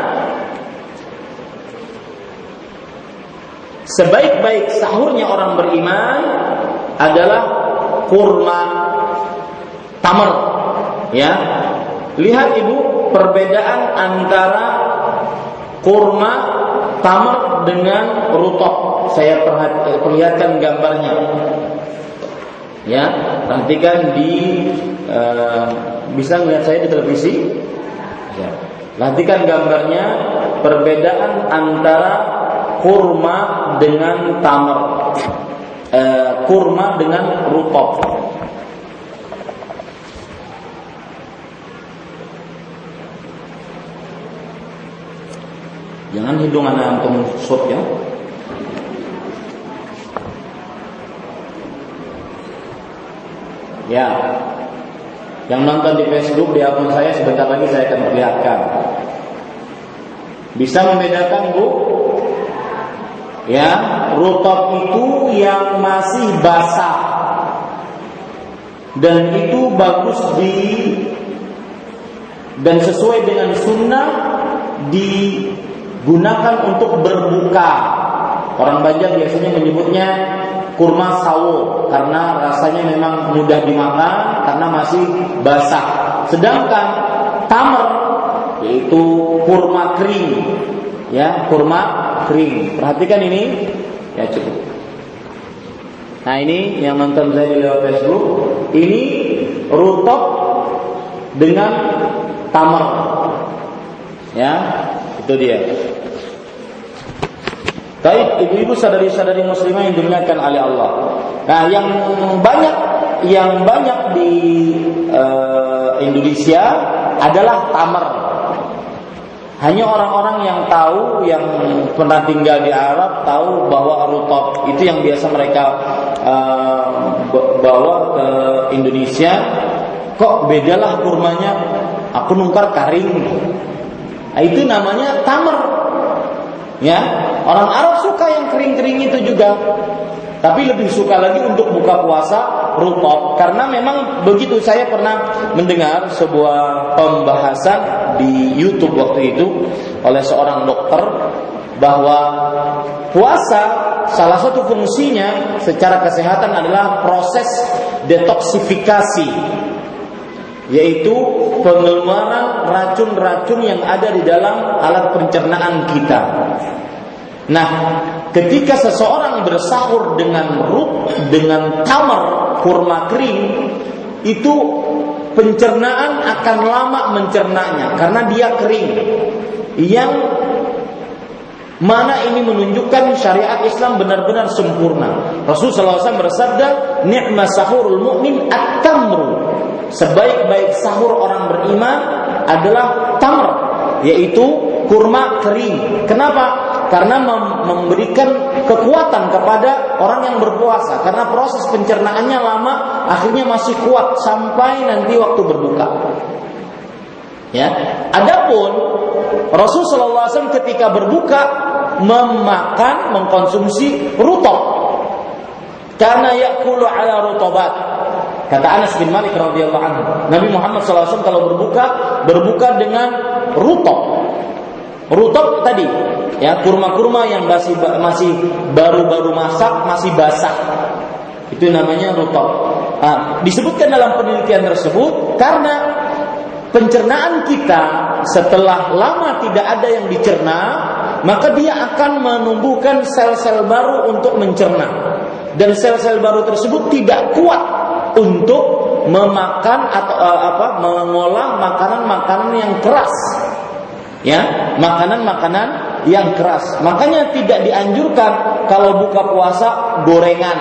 sebaik-baik sahurnya orang beriman adalah kurma tamar. Ya. Lihat ibu perbedaan antara kurma tamar dengan rutab. Saya perlihatkan gambarnya. Ya, perhatikan bisa melihat saya di televisi. Ya. Perhatikan gambarnya, perbedaan antara kurma dengan tamar, kurma dengan rutab. Jangan hidung anak antum shot ya. Ya. Yang nonton di Facebook di akun saya sebentar lagi saya akan perlihatkan. Bisa membedakan, Bu? Ya, rutab itu yang masih basah. Dan itu bagus dan sesuai dengan sunnah digunakan untuk berbuka. Orang Banjar biasanya menyebutnya kurma sawo karena rasanya memang mudah dimakan karena masih basah. Sedangkan tamar yaitu kurma kering. Ya, kurma kering. Perhatikan ini. Ya, cukup. Nah, ini yang nonton saya di lewat Facebook, ini rutab dengan tamar. Ya, itu dia. Baik, ibu-ibu sadari-sadari muslimah yang dimuliakan oleh Allah. Nah, yang banyak di Indonesia adalah tamar. Hanya orang-orang yang tahu, yang pernah tinggal di Arab tahu bahwa rutab itu yang biasa mereka bawa ke Indonesia. Kok bedalah kurmanya? Aku nukar karing. Nah, itu namanya tamar. Ya, orang Arab suka yang kering-kering itu juga. Tapi lebih suka lagi untuk buka puasa rutab. Karena memang begitu, saya pernah mendengar sebuah pembahasan di YouTube waktu itu oleh seorang dokter bahwa puasa salah satu fungsinya secara kesehatan adalah proses detoksifikasi, yaitu pengeluaran racun-racun yang ada di dalam alat pencernaan kita. Nah, ketika seseorang bersahur dengan tamar, kurma kering itu pencernaan akan lama mencernanya karena dia kering. Yang mana ini menunjukkan syariat Islam benar-benar sempurna. Rasulullah SAW bersabda, "Ni'ma sahurul mu'min at-tamru." Sebaik-baik sahur orang beriman adalah tamr, yaitu kurma kering. Kenapa? Karena memberikan kekuatan kepada orang yang berpuasa. Karena proses pencernaannya lama, akhirnya masih kuat sampai nanti waktu berbuka. Ya. Adapun Rasulullah SAW ketika berbuka mengkonsumsi rutab. Karena yakulu ala rutabat. Kata Anas bin Malik radhiyallahu anhu, Nabi Muhammad SAW kalau berbuka dengan rutab. Rutab tadi, ya, kurma-kurma yang masih baru-baru masak, masih basah. Itu namanya rutab. Disebutkan dalam penelitian tersebut karena pencernaan kita setelah lama tidak ada yang dicerna, maka dia akan menumbuhkan sel-sel baru untuk mencerna. Dan sel-sel baru tersebut tidak kuat untuk memakan atau mengolah makanan-makanan yang keras. Ya, makanan-makanan yang keras. Makanya tidak dianjurkan kalau buka puasa gorengan,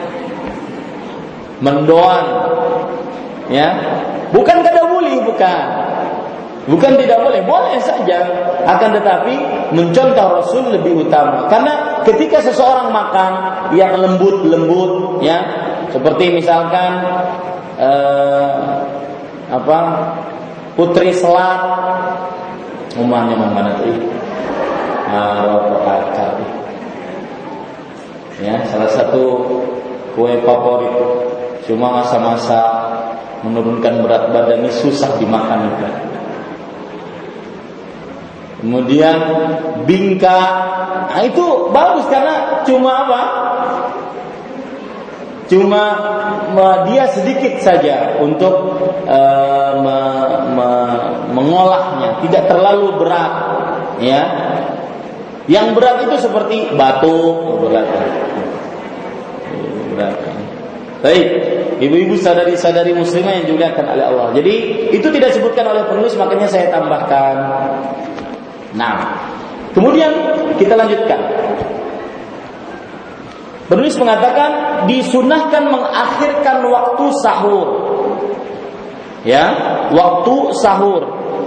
mendoan, ya, bukan kadabuli, bukan tidak boleh, boleh saja. Akan tetapi mencontoh Rasul lebih utama. Karena ketika seseorang makan yang lembut-lembut, ya, seperti misalkan putri selat, umumnya mana tadi? Ya, salah satu kue favorit. Cuma masa-masa menurunkan berat badan ini susah dimakan juga. Kemudian bingka, itu bagus karena cuma Cuma dia sedikit saja untuk mengolahnya, tidak terlalu berat, ya. Yang berat itu seperti batu, berat. Baik, ibu-ibu sadari-sadari muslimah yang dimuliakan oleh Allah. Jadi itu tidak disebutkan oleh penulis, makanya saya tambahkan. Nah, kemudian kita lanjutkan. Penulis mengatakan disunahkan mengakhirkan waktu sahur. Ya, waktu sahur.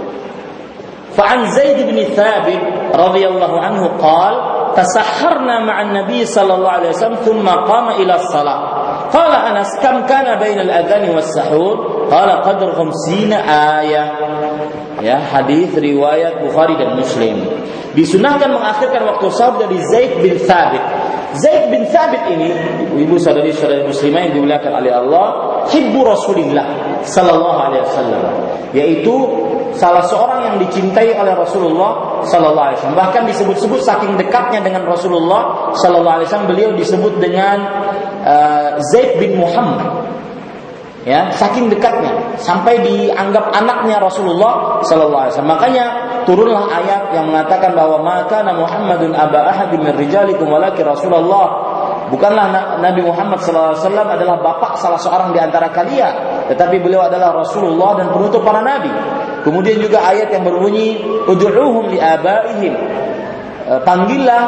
Fa'an Zaid bin Thabit radhiyallahu anhu qala tasahharna ma'an Nabi sallallahu alaihi wasallam thumma qama ila as-salah. Qala Anas kam kana bainal adhan was sahur? Qala qadr 50 ayah. Ya, hadis riwayat Bukhari dan Muslim. Disunahkan mengakhirkan waktu sahur dari Zaid bin Thabit. Zaid bin Thabit ini, ibu saudari-saudari muslimah yang dimuliakan oleh Allah, hibbu Rasulillah sallallahu alaihi wasallam, yaitu salah seorang yang dicintai oleh Rasulullah sallallahu alaihi wasallam. Bahkan disebut-sebut saking dekatnya dengan Rasulullah sallallahu alaihi wasallam, beliau disebut dengan Zaid bin Muhammad. Ya, saking dekatnya sampai dianggap anaknya Rasulullah sallallahu alaihi wasallam. Makanya turunlah ayat yang mengatakan bahwa maka Muhammadun aba ahadin min rijalikum walakin Rasulullah. Bukanlah Nabi Muhammad sallallahu alaihi wasallam adalah bapak salah seorang di antara kalian, tetapi beliau adalah Rasulullah dan penutup para nabi. Kemudian juga ayat yang berbunyi ud'uuhum li abaihim. Panggillah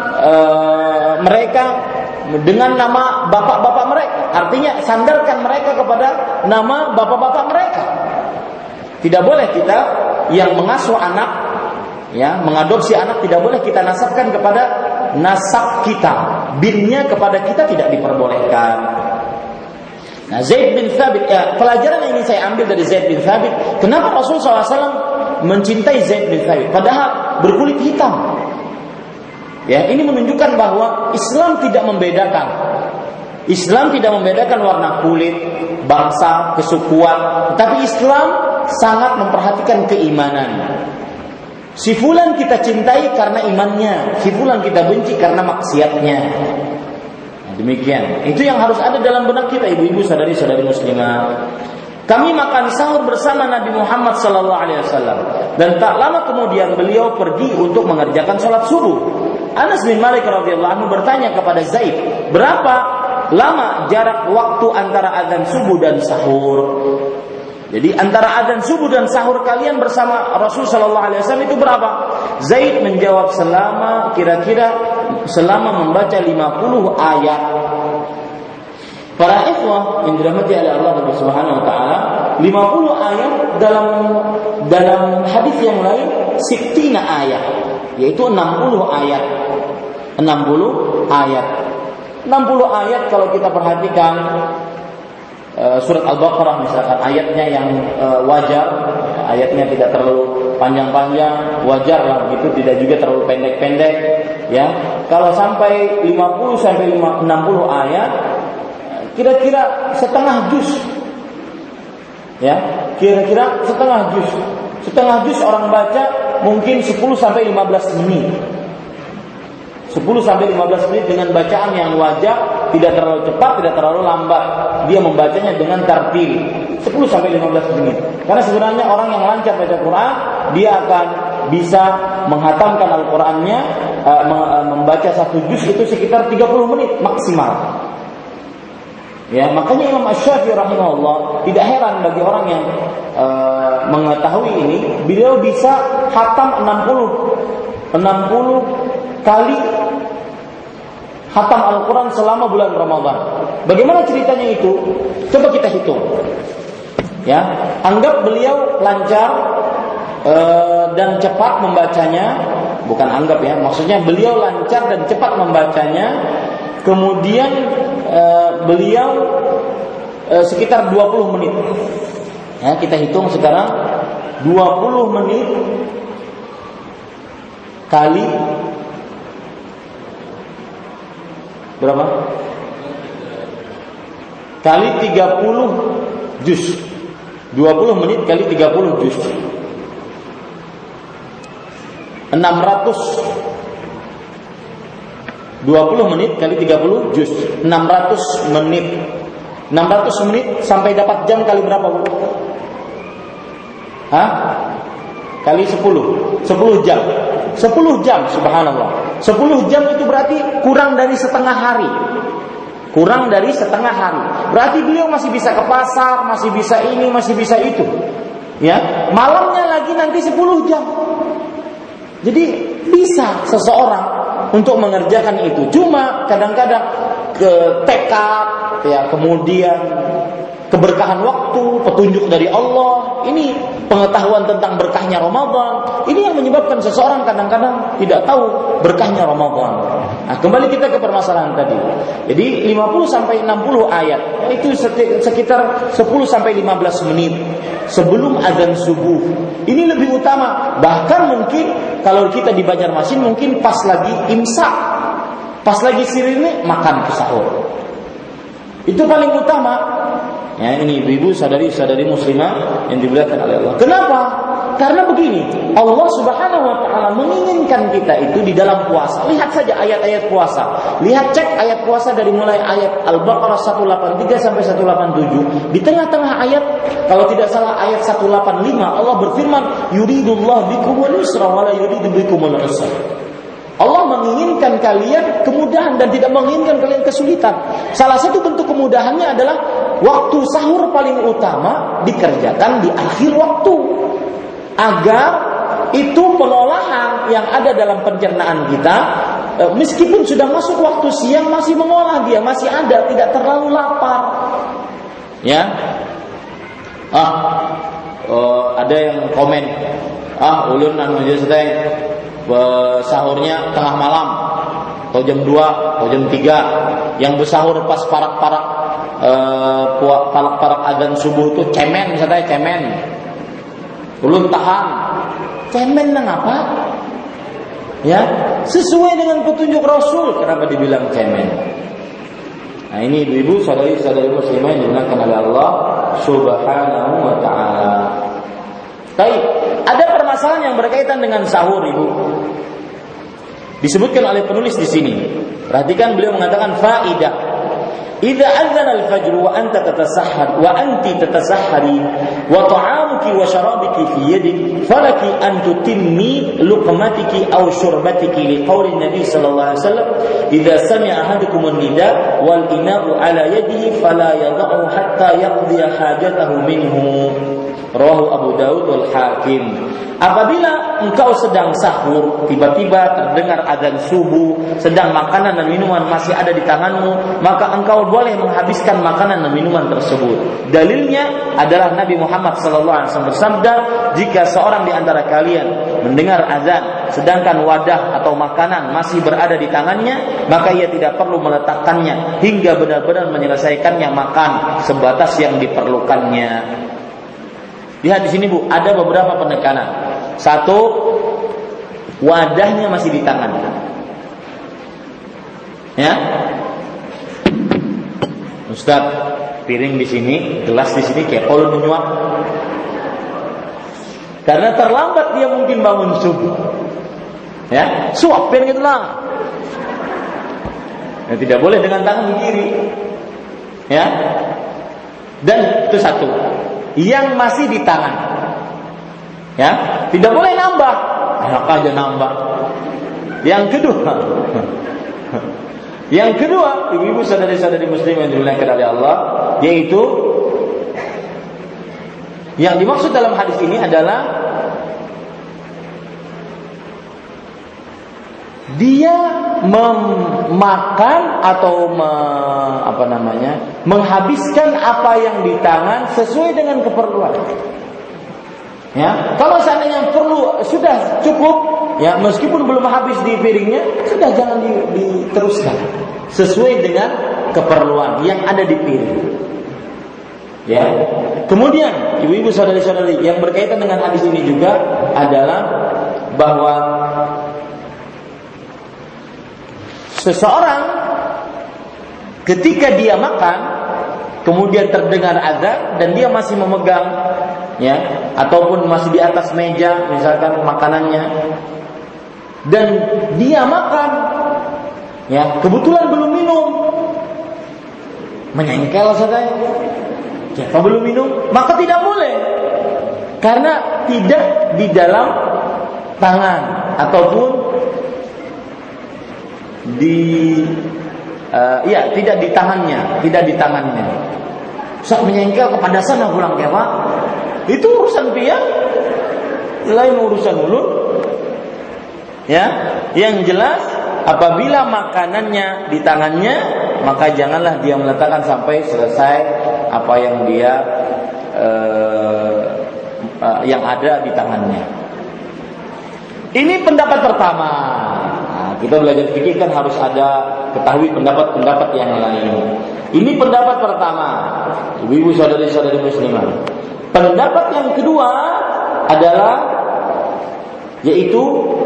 mereka dengan nama bapak-bapak mereka. Artinya sandarkan mereka kepada nama bapak-bapak mereka. Tidak boleh kita yang mengasuh anak, ya, mengadopsi anak, tidak boleh kita nasabkan kepada nasab kita. Binnya kepada kita tidak diperbolehkan. Nah, Zaid bin Thabit, ya, pelajaran yang ingin saya ambil dari Zaid bin Thabit, kenapa Rasulullah SAW mencintai Zaid bin Thabit padahal berkulit hitam? Ya, ini menunjukkan bahwa Islam tidak membedakan. Islam tidak membedakan warna kulit, bangsa, kesukuan, tapi Islam sangat memperhatikan keimanan. Si fulan kita cintai karena imannya, si fulan kita benci karena maksiatnya. Nah, demikian. Itu yang harus ada dalam benak kita, ibu-ibu, saudari-saudari muslimah. Kami makan sahur bersama Nabi Muhammad sallallahu alaihi wasallam, dan tak lama kemudian beliau pergi untuk mengerjakan sholat subuh. Anas bin Malik radhiyallahu anhu bertanya kepada Zaid, berapa lama jarak waktu antara azan subuh dan sahur. Jadi antara azan subuh dan sahur kalian bersama Rasul sallallahu alaihi wasallam itu berapa? Zaid menjawab kira-kira selama membaca 50 ayat. Para ikhwah yang dirahmati oleh Allah Subhanahu wa taala, 50 ayat dalam hadis yang lain 60 ayat, yaitu 60 ayat. 60 ayat. 60 ayat kalau kita perhatikan surat Al-Baqarah misalkan ayatnya yang wajar, ayatnya tidak terlalu panjang-panjang, wajar lah begitu, tidak juga terlalu pendek-pendek, ya. Kalau sampai 50 sampai 60 ayat, kira-kira setengah juz, ya, kira-kira setengah juz. Setengah juz orang baca mungkin 10 sampai 15 menit. 10 sampai 15 menit dengan bacaan yang wajar, tidak terlalu cepat, tidak terlalu lambat. Dia membacanya dengan tartil 10 sampai 15 menit. Karena sebenarnya orang yang lancar baca Quran, dia akan bisa menghatamkan Al-Qur'annya, membaca satu juz itu sekitar 30 menit maksimal. Ya, makanya Imam Asy-Syafi'i rahimahullah tidak heran bagi orang yang mengetahui ini, beliau bisa khatam 60 kali khatam Al-Quran selama bulan Ramadan. Bagaimana ceritanya itu? Coba kita hitung. Ya, anggap beliau lancar dan cepat membacanya, bukan anggap ya, maksudnya beliau lancar dan cepat membacanya. Kemudian beliau sekitar 20 menit. Ya, kita hitung sekarang 20 menit kali berapa? Kali 30 juz. 20 menit kali 30 juz. 20 menit kali 30 juz 600 menit. 600 menit sampai dapat jam kali berapa, Bu? Hah? Kali 10 jam. 10 jam, subhanallah. 10 jam itu berarti kurang dari setengah hari. Kurang dari setengah hari. Berarti beliau masih bisa ke pasar, masih bisa ini, masih bisa itu. Ya, malamnya lagi nanti 10 jam. Jadi bisa seseorang untuk mengerjakan itu. Cuma kadang-kadang tekad, ya, kemudian keberkahan waktu, petunjuk dari Allah, ini pengetahuan tentang berkahnya Ramadan, ini yang menyebabkan seseorang kadang-kadang tidak tahu berkahnya Ramadan. Nah, kembali kita ke permasalahan tadi. Jadi 50 sampai 60 ayat, itu sekitar 10 sampai 15 menit sebelum azan subuh. Ini lebih utama. Bahkan mungkin kalau kita di Banjarmasin mungkin pas lagi imsak, pas lagi sirine makan ke sahur. Itu paling utama. Ya, ini ibu-ibu, saudari-saudari muslimah yang dimuliakan oleh Allah. Kenapa? Karena begini, Allah Subhanahu wa taala menginginkan kita itu di dalam puasa. Lihat saja ayat-ayat puasa. Lihat, cek ayat puasa dari mulai ayat Al-Baqarah 183 sampai 187. Di tengah-tengah ayat, kalau tidak salah ayat 185, Allah berfirman, "Yuridullahu bikumul yusra wa la yuridu bikumul usra." Allah menginginkan kalian kemudahan dan tidak menginginkan kalian kesulitan. Salah satu bentuk kemudahannya adalah waktu sahur paling utama dikerjakan di akhir waktu, agar itu pengolahan yang ada dalam pencernaan kita, meskipun sudah masuk waktu siang, masih mengolah, dia masih ada, tidak terlalu lapar. Ya, ada yang komen, ulun anu teh sahurnya tengah malam atau jam 2 atau jam 3, yang bersahur pas parak-parak adzan subuh itu cemen, misalnya cemen, ulun tahan cemen nang apa? Ya, sesuai dengan petunjuk Rasul, kenapa dibilang cemen? Nah, ini ibu-ibu, saudari-saudari muslimah yang dimuliakan oleh Allah Subhanahu wa taala. Baik, ada permasalahan yang berkaitan dengan sahur, Ibu. Disebutkan oleh penulis di sini. Perhatikan, beliau mengatakan faidah. Idza adzana al-fajr wa anta tatasahhar wa anti tatasahhari wa ta'amu ta'amuki wa syarabiki fi yadik falaki an tutimmi luqmatiki aw syurbatiki liqauli Nabi sallallahu alaihi wasallam idza sami'a ahadukum an-nida wal ina'u ala yadihi fala yad'u hatta yaqdi hajatahu minhu. Rawahu Abu Daud wal Hakim. Apabila engkau sedang sahur, tiba-tiba terdengar azan subuh, sedang makanan dan minuman masih ada di tanganmu, maka engkau boleh menghabiskan makanan dan minuman tersebut. Dalilnya adalah Nabi Muhammad SAW bersabda, jika seorang di antara kalian mendengar azan, sedangkan wadah atau makanan masih berada di tangannya, maka ia tidak perlu meletakkannya hingga benar-benar menyelesaikannya makan sebatas yang diperlukannya. Lihat di sini Bu, ada beberapa penekanan. Satu, wadahnya masih di tangan. Ya, Ustaz, piring di sini, gelas di sini, kepol menyuap. Karena terlambat dia mungkin bangun subuh. Ya, suapin gitulah. Ya, tidak boleh dengan tangan kiri. Ya, dan itu satu. Yang masih di tangan, ya, tidak boleh nambah, enak aja nambah. Yang kedua, ibu-ibu saudari-saudari muslim yang dimuliakan oleh Allah, yaitu yang dimaksud dalam hadis ini adalah dia memakan atau menghabiskan apa yang di tangan sesuai dengan keperluan. Ya, kalau seandainya perlu sudah cukup, ya meskipun belum habis di piringnya, sudah jangan diteruskan sesuai dengan keperluan yang ada di piring. Ya. Kemudian ibu-ibu saudari-saudari yang berkaitan dengan hadis ini juga adalah bahwa seseorang ketika dia makan kemudian terdengar azan dan dia masih memegang, ya, ataupun masih di atas meja misalkan makanannya, dan dia makan, ya, kebetulan belum minum, menyengkel saja, ya, belum minum, maka tidak boleh karena tidak di dalam tangan ataupun tidak di tangannya. Saat menyengkel kepada sana pulang ya Pak, itu urusan dia, lain urusan mulut. Ya, yang jelas apabila makanannya di tangannya, maka janganlah dia meletakkan sampai selesai apa yang dia yang ada di tangannya. Ini pendapat pertama. Kita belajar fikih kan harus ada ketahui pendapat-pendapat yang lain. Ini pendapat pertama, ibu-ibu saudari-saudari muslimah. Pendapat yang kedua adalah yaitu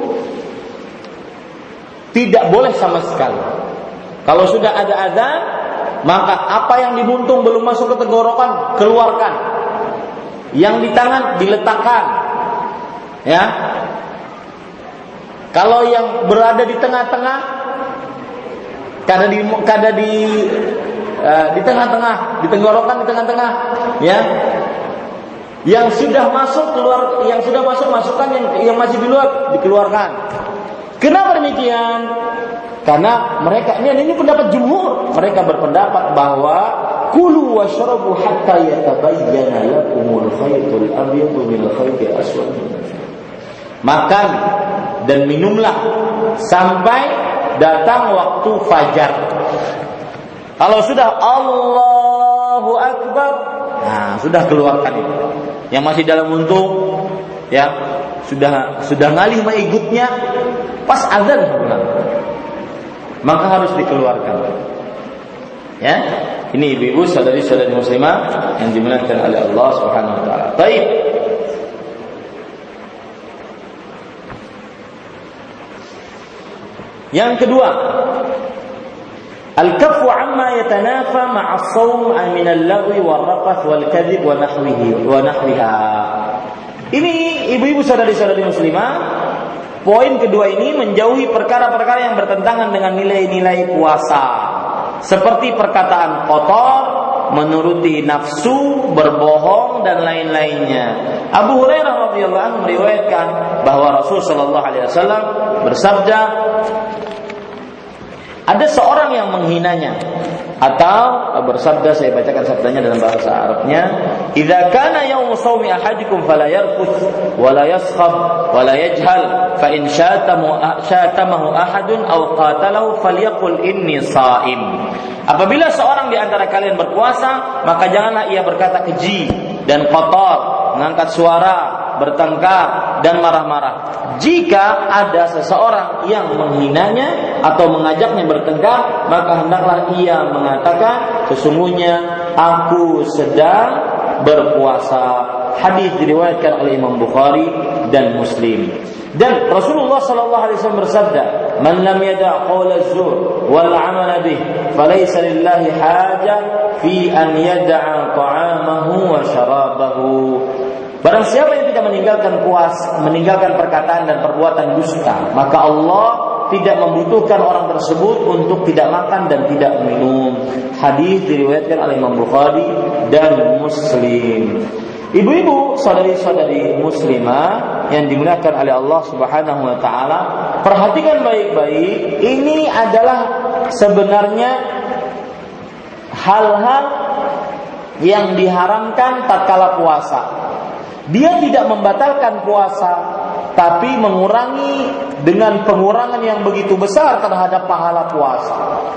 tidak boleh sama sekali. Kalau sudah ada azan, maka apa yang dibuntung belum masuk ke tenggorokan keluarkan. Yang di tangan diletakkan. Ya. Kalau yang berada di tengah-tengah, di tengah-tengah, di tenggorokan di tengah-tengah, ya. Yang sudah masuk keluar, yang sudah masukkan, yang masih di luar dikeluarkan. Kenapa demikian? Karena mereka ini pendapat jumhur. Mereka berpendapat bahwa kulu washrabu hatta yatabayyana lakumul khaytul abyadu minal khaytil aswad. Makan dan minumlah sampai datang waktu fajar. Kalau sudah Allahu Akbar, nah sudah keluarkan itu. Yang masih dalam untung, ya sudah ngalih mengikutnya, pas azan pulang, maka harus dikeluarkan. Ya, ini ibu-ibu saudari-saudari muslimah yang dimuliakan oleh Allah Subhanahu Wa Taala. Baik. Yang kedua, al-kaffu amma yatanafa ma'a as-sawm min al-lagwi wal-rafath wal-kadhib wa nahwiha. Ini ibu-ibu saudari-saudari muslimah, poin kedua ini menjauhi perkara-perkara yang bertentangan dengan nilai-nilai puasa, seperti perkataan kotor, menuruti nafsu, berbohong dan lain-lainnya. Abu Hurairah radhiyallahu anhu meriwayatkan bahwa Rasul sallallahu alaihi wasallam bersabda, ada seorang yang menghinanya, atau bersabda, saya bacakan sabdanya dalam bahasa Arabnya, "Idza kana yaumu shaumi ahadikum fala yarfuth wa la yaskhab wa la yajhal fa in syatamahu ahadun aw qatalahu falyaqul inni shaim." Apabila seorang di antara kalian berpuasa, maka janganlah ia berkata keji dan kotor, mengangkat suara, bertengkar dan marah-marah. Jika ada seseorang yang menghinanya atau mengajaknya bertengkar, maka hendaklah ia mengatakan, sesungguhnya aku sedang berpuasa. Hadis diriwayatkan oleh Imam Bukhari dan Muslim. Dan Rasulullah sallallahu alaihi wasallam bersabda, "Man lam yada' qaula az-zur wal 'amala bih, falaysa lillahi hajah fi an yada'a ta'amahu wa syarabahu." Barang siapa yang tidak meninggalkan perkataan dan perbuatan dusta, maka Allah tidak membutuhkan orang tersebut untuk tidak makan dan tidak minum. Hadis diriwayatkan oleh Imam Bukhari dan Muslim. Ibu-ibu, saudari-saudari muslimah yang dimuliakan oleh Allah Subhanahu wa taala, perhatikan baik-baik, ini adalah sebenarnya hal-hal yang diharamkan tatkala puasa. Dia tidak membatalkan puasa, tapi mengurangi dengan pengurangan yang begitu besar terhadap pahala puasa.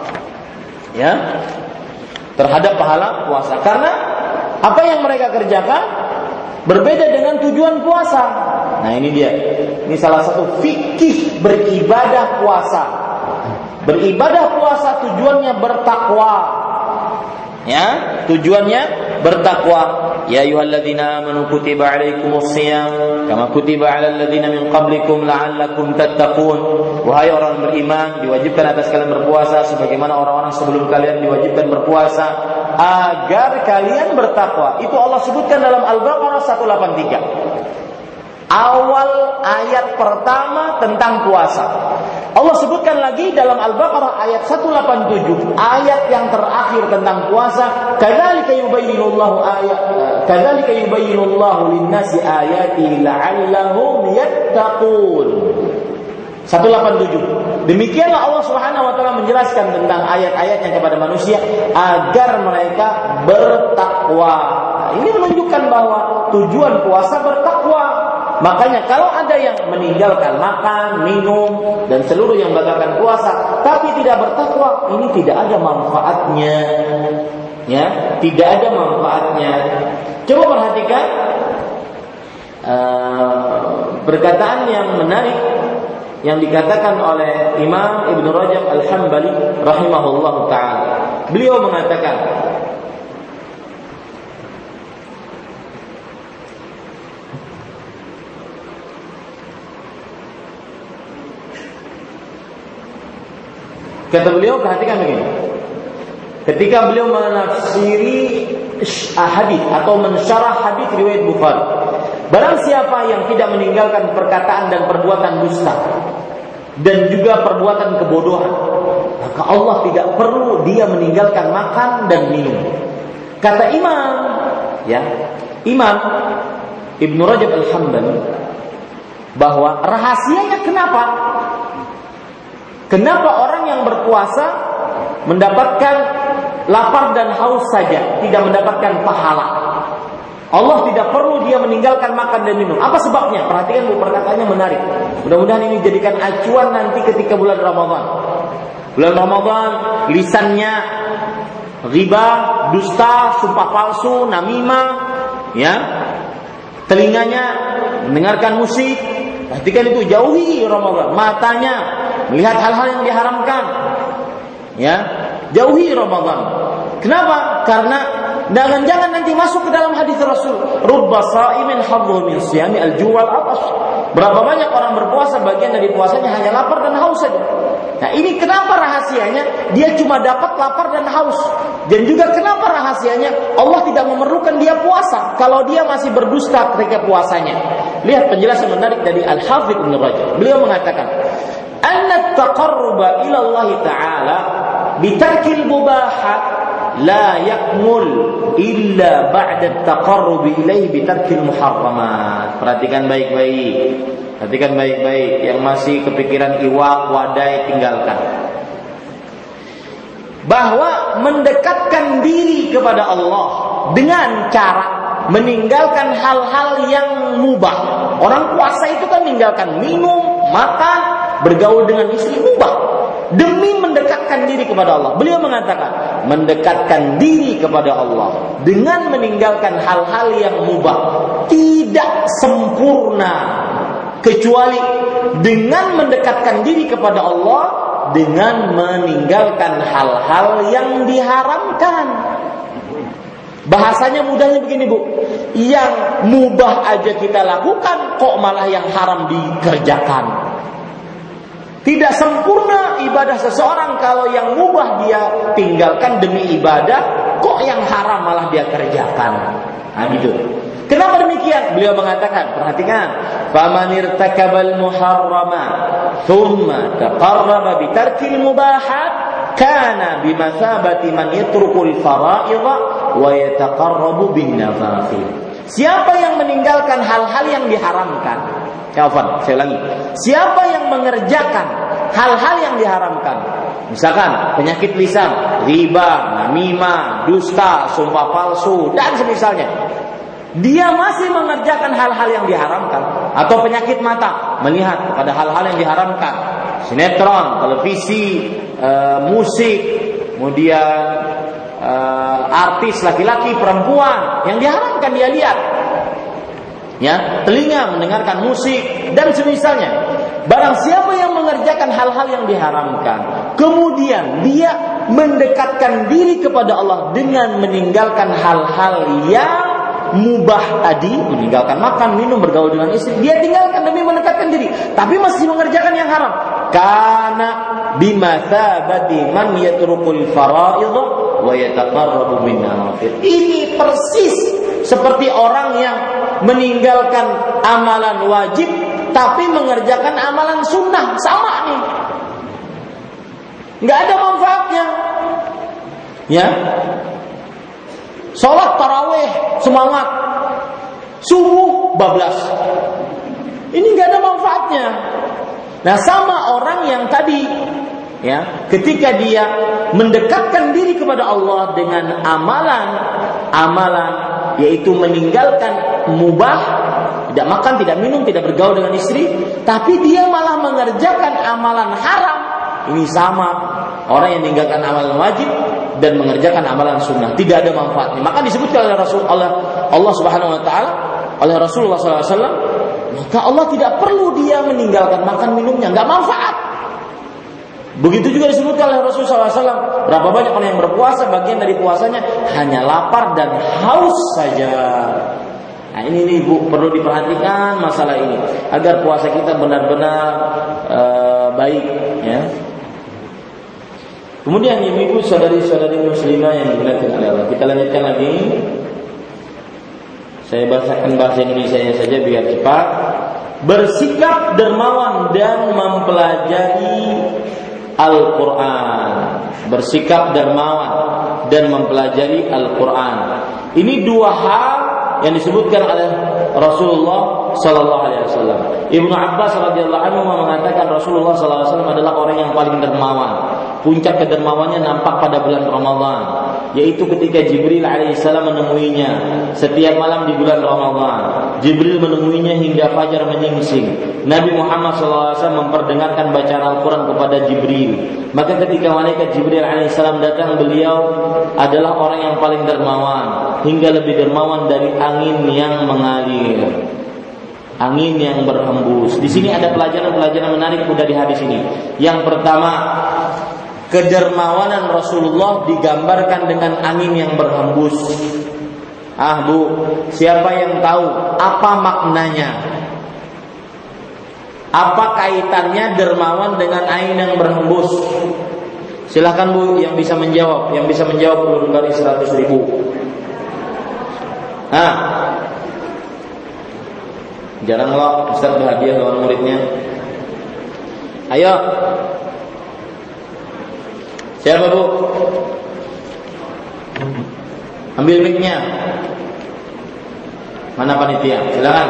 Ya, terhadap pahala puasa. Karena apa yang mereka kerjakan berbeda dengan tujuan puasa. Nah, ini dia. Ini salah satu fikih beribadah puasa. Beribadah puasa tujuannya bertakwa. Ya, tujuannya bertakwa. Ya ayyuhalladzina amanu kutiba alaikumus shiyam kama kutiba alal ladzina min qablikum la'allakum tattaqun. Wahai orang beriman, diwajibkan atas kalian berpuasa sebagaimana orang-orang sebelum kalian diwajibkan berpuasa agar kalian bertakwa. Itu Allah sebutkan dalam Al-Baqarah 183. Awal ayat pertama tentang puasa. Allah sebutkan lagi dalam Al-Baqarah ayat 187, ayat yang terakhir tentang puasa, kadzalika yubayyinullahu lin-nasi ayatihi la'allahum yattaqun. 187. Demikianlah Allah Subhanahu wa taala menjelaskan tentang ayat-ayatnya kepada manusia agar mereka bertakwa. Nah, ini menunjukkan bahwa tujuan puasa bertakwa. Makanya kalau ada yang meninggalkan makan, minum dan seluruh yang membatalkan puasa tapi tidak bertakwa, ini tidak ada manfaatnya. Ya, tidak ada manfaatnya. Coba perhatikan perkataan yang menarik yang dikatakan oleh Imam Ibnu Rajab Al-Hambali rahimahullahu taala. Beliau mengatakan, kata beliau, perhatikan begini. Ketika beliau menafsiri hadis atau mensyarah hadis riwayat Bukhari, barang siapa yang tidak meninggalkan perkataan dan perbuatan dusta dan juga perbuatan kebodohan, maka Allah tidak perlu dia meninggalkan makan dan minum. Kata Imam Ibnu Rajab Al-Hambali bahwa rahasianya Kenapa orang yang berpuasa mendapatkan lapar dan haus saja, tidak mendapatkan pahala? Allah tidak perlu dia meninggalkan makan dan minum. Apa sebabnya? Perhatikan Bu, perkataannya menarik. Mudah-mudahan ini jadikan acuan nanti ketika bulan Ramadan. Bulan Ramadan, lisannya riba, dusta, sumpah palsu, namimah, ya. Telinganya mendengarkan musik. Perhatikan itu, jauhi Ramadan. Matanya melihat hal-hal yang diharamkan, ya, jauhi Ramadan. Kenapa? Karena jangan nanti masuk ke dalam hadis Rasul, rubba sha'imin hadhu min siyami al-ju' wal 'atash. Berapa banyak orang berpuasa, bagian dari puasanya hanya lapar dan haus saja. Nah, ini kenapa rahasianya? Dia cuma dapat lapar dan haus. Dan juga kenapa rahasianya? Allah tidak memerlukan dia puasa kalau dia masih berdusta ketika puasanya. Lihat penjelasan menarik dari Al-Hafidz Ibnu Rajab. Beliau mengatakan, "Anna at-taqarruba ila Allah Ta'ala bi tarkil mubahat la yakmul illa ba'da at-taqarrub ilaihi bi tarkil muharramat. Perhatikan baik-baik. Perhatikan baik-baik, yang masih kepikiran iwak, wadai, tinggalkan. Bahwa mendekatkan diri kepada Allah dengan cara meninggalkan hal-hal yang mubah. Orang puasa itu kan meninggalkan minum, makan, bergaul dengan istri, mubah, demi mendekatkan diri kepada Allah. Beliau mengatakan, mendekatkan diri kepada Allah dengan meninggalkan hal-hal yang mubah tidak sempurna, kecuali dengan mendekatkan diri kepada Allah dengan meninggalkan hal-hal yang diharamkan. Bahasanya mudahnya begini, Bu. Yang mubah aja kita lakukan, kok malah yang haram dikerjakan. Tidak sempurna ibadah seseorang kalau yang mubah dia tinggalkan demi ibadah, kok yang haram malah dia kerjakan. Nah, gitu. Kenapa demikian? Beliau mengatakan, perhatikan, faman irtakabal muharrama thumma taqarraba bi tarkil mubahat kana bimathabati man yatrukul fara'idha wa yataqarrabu bin nawafil. Siapa yang meninggalkan hal-hal yang diharamkan? Saya ulangi. Siapa yang mengerjakan hal-hal yang diharamkan? Misalkan penyakit lisan, riba, namimah, dusta, sumpah palsu, dan semisalnya. Dia masih mengerjakan hal-hal yang diharamkan. Atau penyakit mata, melihat kepada hal-hal yang diharamkan, sinetron, televisi, musik, kemudian artis laki-laki, perempuan yang diharamkan dia lihat. Ya, telinga mendengarkan musik dan semisalnya. Barang siapa yang mengerjakan hal-hal yang diharamkan, kemudian dia mendekatkan diri kepada Allah dengan meninggalkan hal-hal yang mubah tadi, meninggalkan makan, minum, bergaul dengan istri, dia tinggalkan demi mendekatkan diri, tapi masih mengerjakan yang haram. Karena bimathabati man yatrukul fara'idha wa yataqarrabu bin nawafil. Ini persis seperti orang yang meninggalkan amalan wajib tapi mengerjakan amalan sunnah. Sama nih, nggak ada manfaatnya. Ya, sholat tarawih semangat, subuh bablas, ini nggak ada manfaatnya. Nah, sama orang yang tadi, ya, ketika dia mendekatkan diri kepada Allah dengan amalan, yaitu meninggalkan mubah, tidak makan, tidak minum, tidak bergaul dengan istri, tapi dia malah mengerjakan amalan haram. Ini sama orang yang meninggalkan amalan wajib dan mengerjakan amalan sunnah, tidak ada manfaatnya. Maka disebutkan oleh Allah Subhanahu Wa Taala, oleh Rasulullah SAW, maka Allah tidak perlu dia meninggalkan makan minumnya, nggak manfaat. Begitu juga disebutkan oleh Rasulullah SAW, berapa banyak orang yang berpuasa, bagian dari puasanya hanya lapar dan haus saja. Nah, ini nih, Bu, perlu diperhatikan masalah ini agar puasa kita benar-benar baik, ya. Kemudian ibu saudari-saudari muslimah yang dimuliakan oleh Allah, kita lanjutkan lagi. Saya bahasakan bahasa Indonesia saja biar cepat. Bersikap dermawan dan mempelajari Al-Quran. Bersikap dermawan dan mempelajari Al-Quran. Ini dua hal yang disebutkan oleh Rasulullah Sallallahu Alaihi Wasallam. Ibnu Abbas radhiyallahu anhu mengatakan Rasulullah Sallallahu Alaihi Wasallam adalah orang yang paling dermawan. Puncak kedermawannya nampak pada bulan Ramadan, yaitu ketika Jibril alaihissalam menemuinya setiap malam di bulan Ramadan. Jibril menemuinya hingga fajar menyingsing. Nabi Muhammad SAW memperdengarkan bacaan Al-Quran kepada Jibril. Maka ketika malaikat Jibril alaihissalam datang, beliau adalah orang yang paling dermawan, hingga lebih dermawan dari angin yang mengalir, angin yang berhembus. Di sini ada pelajaran-pelajaran menarik dari hadis ini. Yang pertama, kedermawanan Rasulullah digambarkan dengan angin yang berhembus. Bu, siapa yang tahu apa maknanya? Apa kaitannya dermawan dengan angin yang berhembus? Silakan, Bu, yang bisa menjawab. Yang bisa menjawab perlu dari 100.000. Jarang loh Ustaz berhadiah lawan muridnya. Ayo. Siapa, Bu? Ambil mic-nya. Mana panitia? Silakan.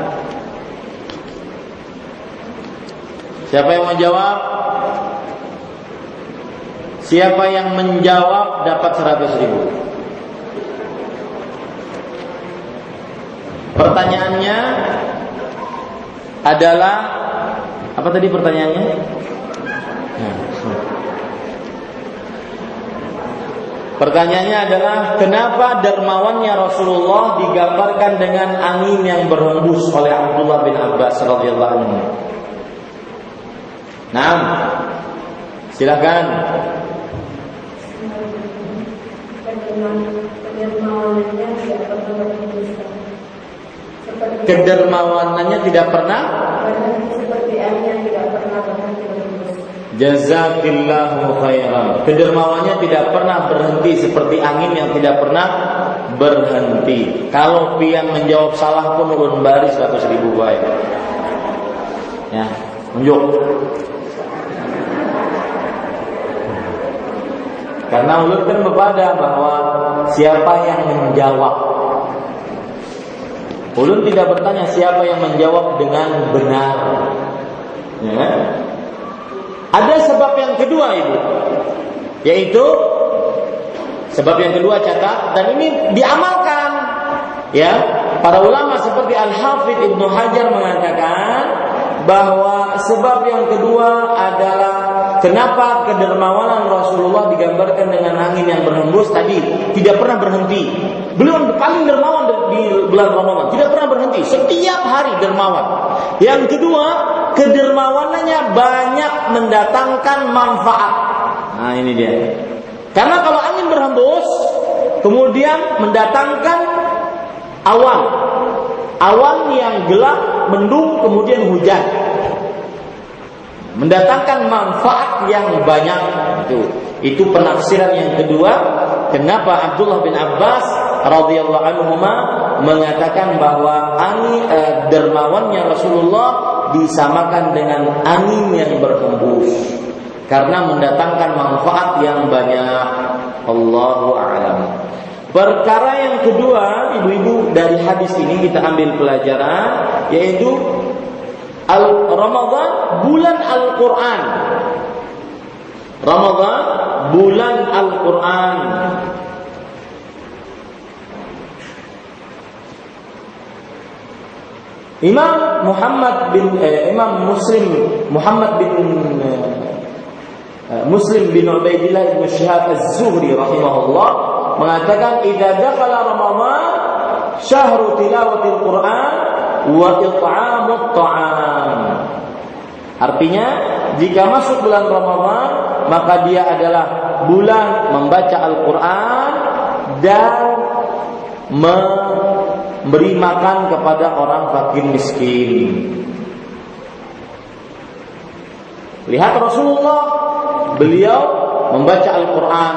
Siapa yang menjawab? Siapa yang menjawab dapat 100.000. Pertanyaannya adalah apa tadi pertanyaannya? Pertanyaannya adalah kenapa dermawannya Rasulullah digambarkan dengan angin yang berhembus oleh Abdullah bin Abbas radhiyallahu anhu. Nah, silakan. Kedermawanannya tidak pernah seperti angin yang tidak pernah berhenti. Jazakillahu khairan. Kedermawannya tidak pernah berhenti seperti angin yang tidak pernah berhenti. Kalau pian menjawab salah pun ulun bari 100.000 baik. Ya, tunjuk. Karena ulun kan berbeda bahwa siapa yang menjawab. Ulun tidak bertanya siapa yang menjawab dengan benar. Ya. Ada sebab yang kedua Ibu, yaitu sebab yang kedua catat, dan ini diamalkan. Ya, para ulama seperti Al-Hafidz Ibnu Hajar mengatakan bahwa sebab yang kedua adalah kenapa kedermawanan Rasulullah digambarkan dengan angin yang berhembus tadi, tidak pernah berhenti. Beliau paling dermawan di bulan Ramadan, tidak pernah berhenti, setiap hari dermawan. Yang kedua, kedermawanannya banyak mendatangkan manfaat. Nah, ini dia. Karena kalau angin berhembus, kemudian mendatangkan awan. Awan yang gelap, mendung, kemudian hujan. Mendatangkan manfaat yang banyak. Itu penafsiran yang kedua. Kenapa Abdullah bin Abbas radhiyallahu anhuma mengatakan bahwa angin dermawannya Rasulullah disamakan dengan angin yang berhembus karena mendatangkan manfaat yang banyak. Allahu a'lam. Perkara yang kedua, ibu-ibu, dari hadis ini kita ambil pelajaran, yaitu Ramadan bulan Al-Quran. Ramadan bulan Al-Quran. Imam Muslim bin Ubaidillah bin Syihab Az-Zuhri rahimahullah mengatakan idza dakhala Ramadan syahru tilawatil Quran wa it'amut ta'am. Artinya jika masuk bulan Ramadan maka dia adalah bulan membaca Al-Quran dan memberi makan kepada orang fakir miskin. Lihat Rasulullah, beliau membaca Al-Quran.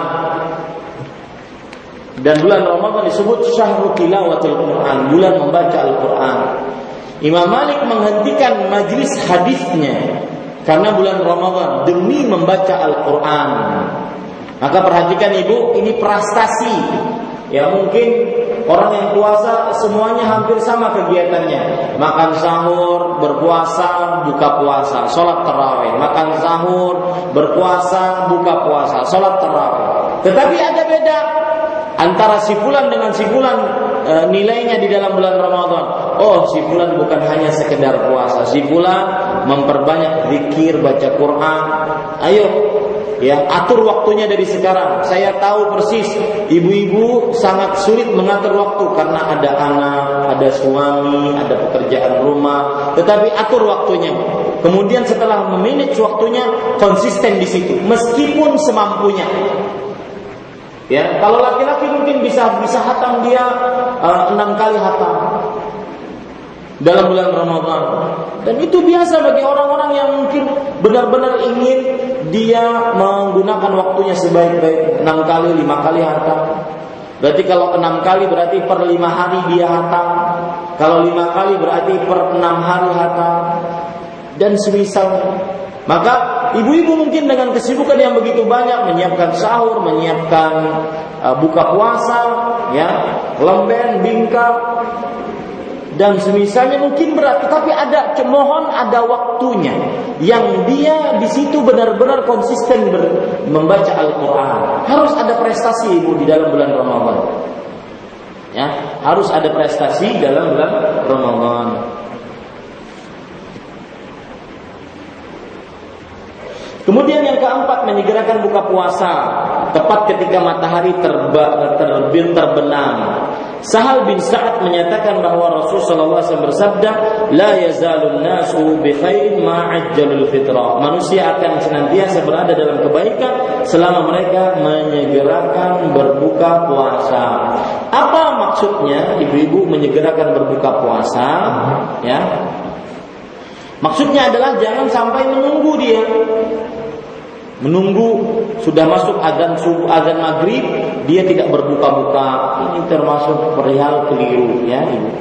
Dan bulan Ramadan disebut syahrul tilawatil Quran, bulan membaca Al-Quran. Imam Malik menghentikan majlis hadisnya karena bulan Ramadan demi membaca Al-Quran. Maka perhatikan ibu, ini prestasi. Ya mungkin orang yang puasa semuanya hampir sama kegiatannya. Makan sahur, berpuasa, buka puasa, sholat tarawih. Makan sahur, berpuasa, buka puasa, sholat tarawih. Tetapi ada beda antara si fulan dengan si fulan nilainya di dalam bulan Ramadan. Oh, si fulan bukan hanya sekedar puasa. Si fulan memperbanyak zikir, baca Quran. Ayo, ya, atur waktunya dari sekarang. Saya tahu persis ibu-ibu sangat sulit mengatur waktu karena ada anak, ada suami, ada pekerjaan rumah. Tetapi atur waktunya. Kemudian setelah memanage waktunya, konsisten di situ meskipun semampunya. Ya, kalau laki-laki mungkin bisa hatam dia 6 kali hatam dalam bulan Ramadan. Dan itu biasa bagi orang-orang yang mungkin benar-benar ingin dia menggunakan waktunya sebaik-baik. 6 kali, 5 kali hatam. Berarti kalau 6 kali berarti per 5 hari dia hatam. Kalau 5 kali berarti per 6 hari hatam. Dan semisal. Maka ibu-ibu mungkin dengan kesibukan yang begitu banyak, menyiapkan sahur, menyiapkan buka puasa, ya, lemben, bingkai dan semisalnya mungkin berat, tetapi mohon ada waktunya yang dia di situ benar-benar konsisten membaca Al-Quran. Harus ada prestasi ibu di dalam bulan Ramadan. Ya, harus ada prestasi dalam bulan Ramadan. Kemudian yang keempat, menyegerakan buka puasa tepat ketika matahari terbenam. Sahal bin Sa'ad menyatakan bahwa Rasulullah SAW bersabda, "La yazalun nasu bi khairin ma ajjalul fitrah." Manusia akan senantiasa berada dalam kebaikan selama mereka menyegerakan berbuka puasa. Apa maksudnya ibu-ibu menyegerakan berbuka puasa? Ya. Maksudnya adalah jangan sampai menunggu dia. Menunggu sudah masuk azan maghrib, dia tidak berbuka-buka. Ini termasuk perihal keliru, ya ibu.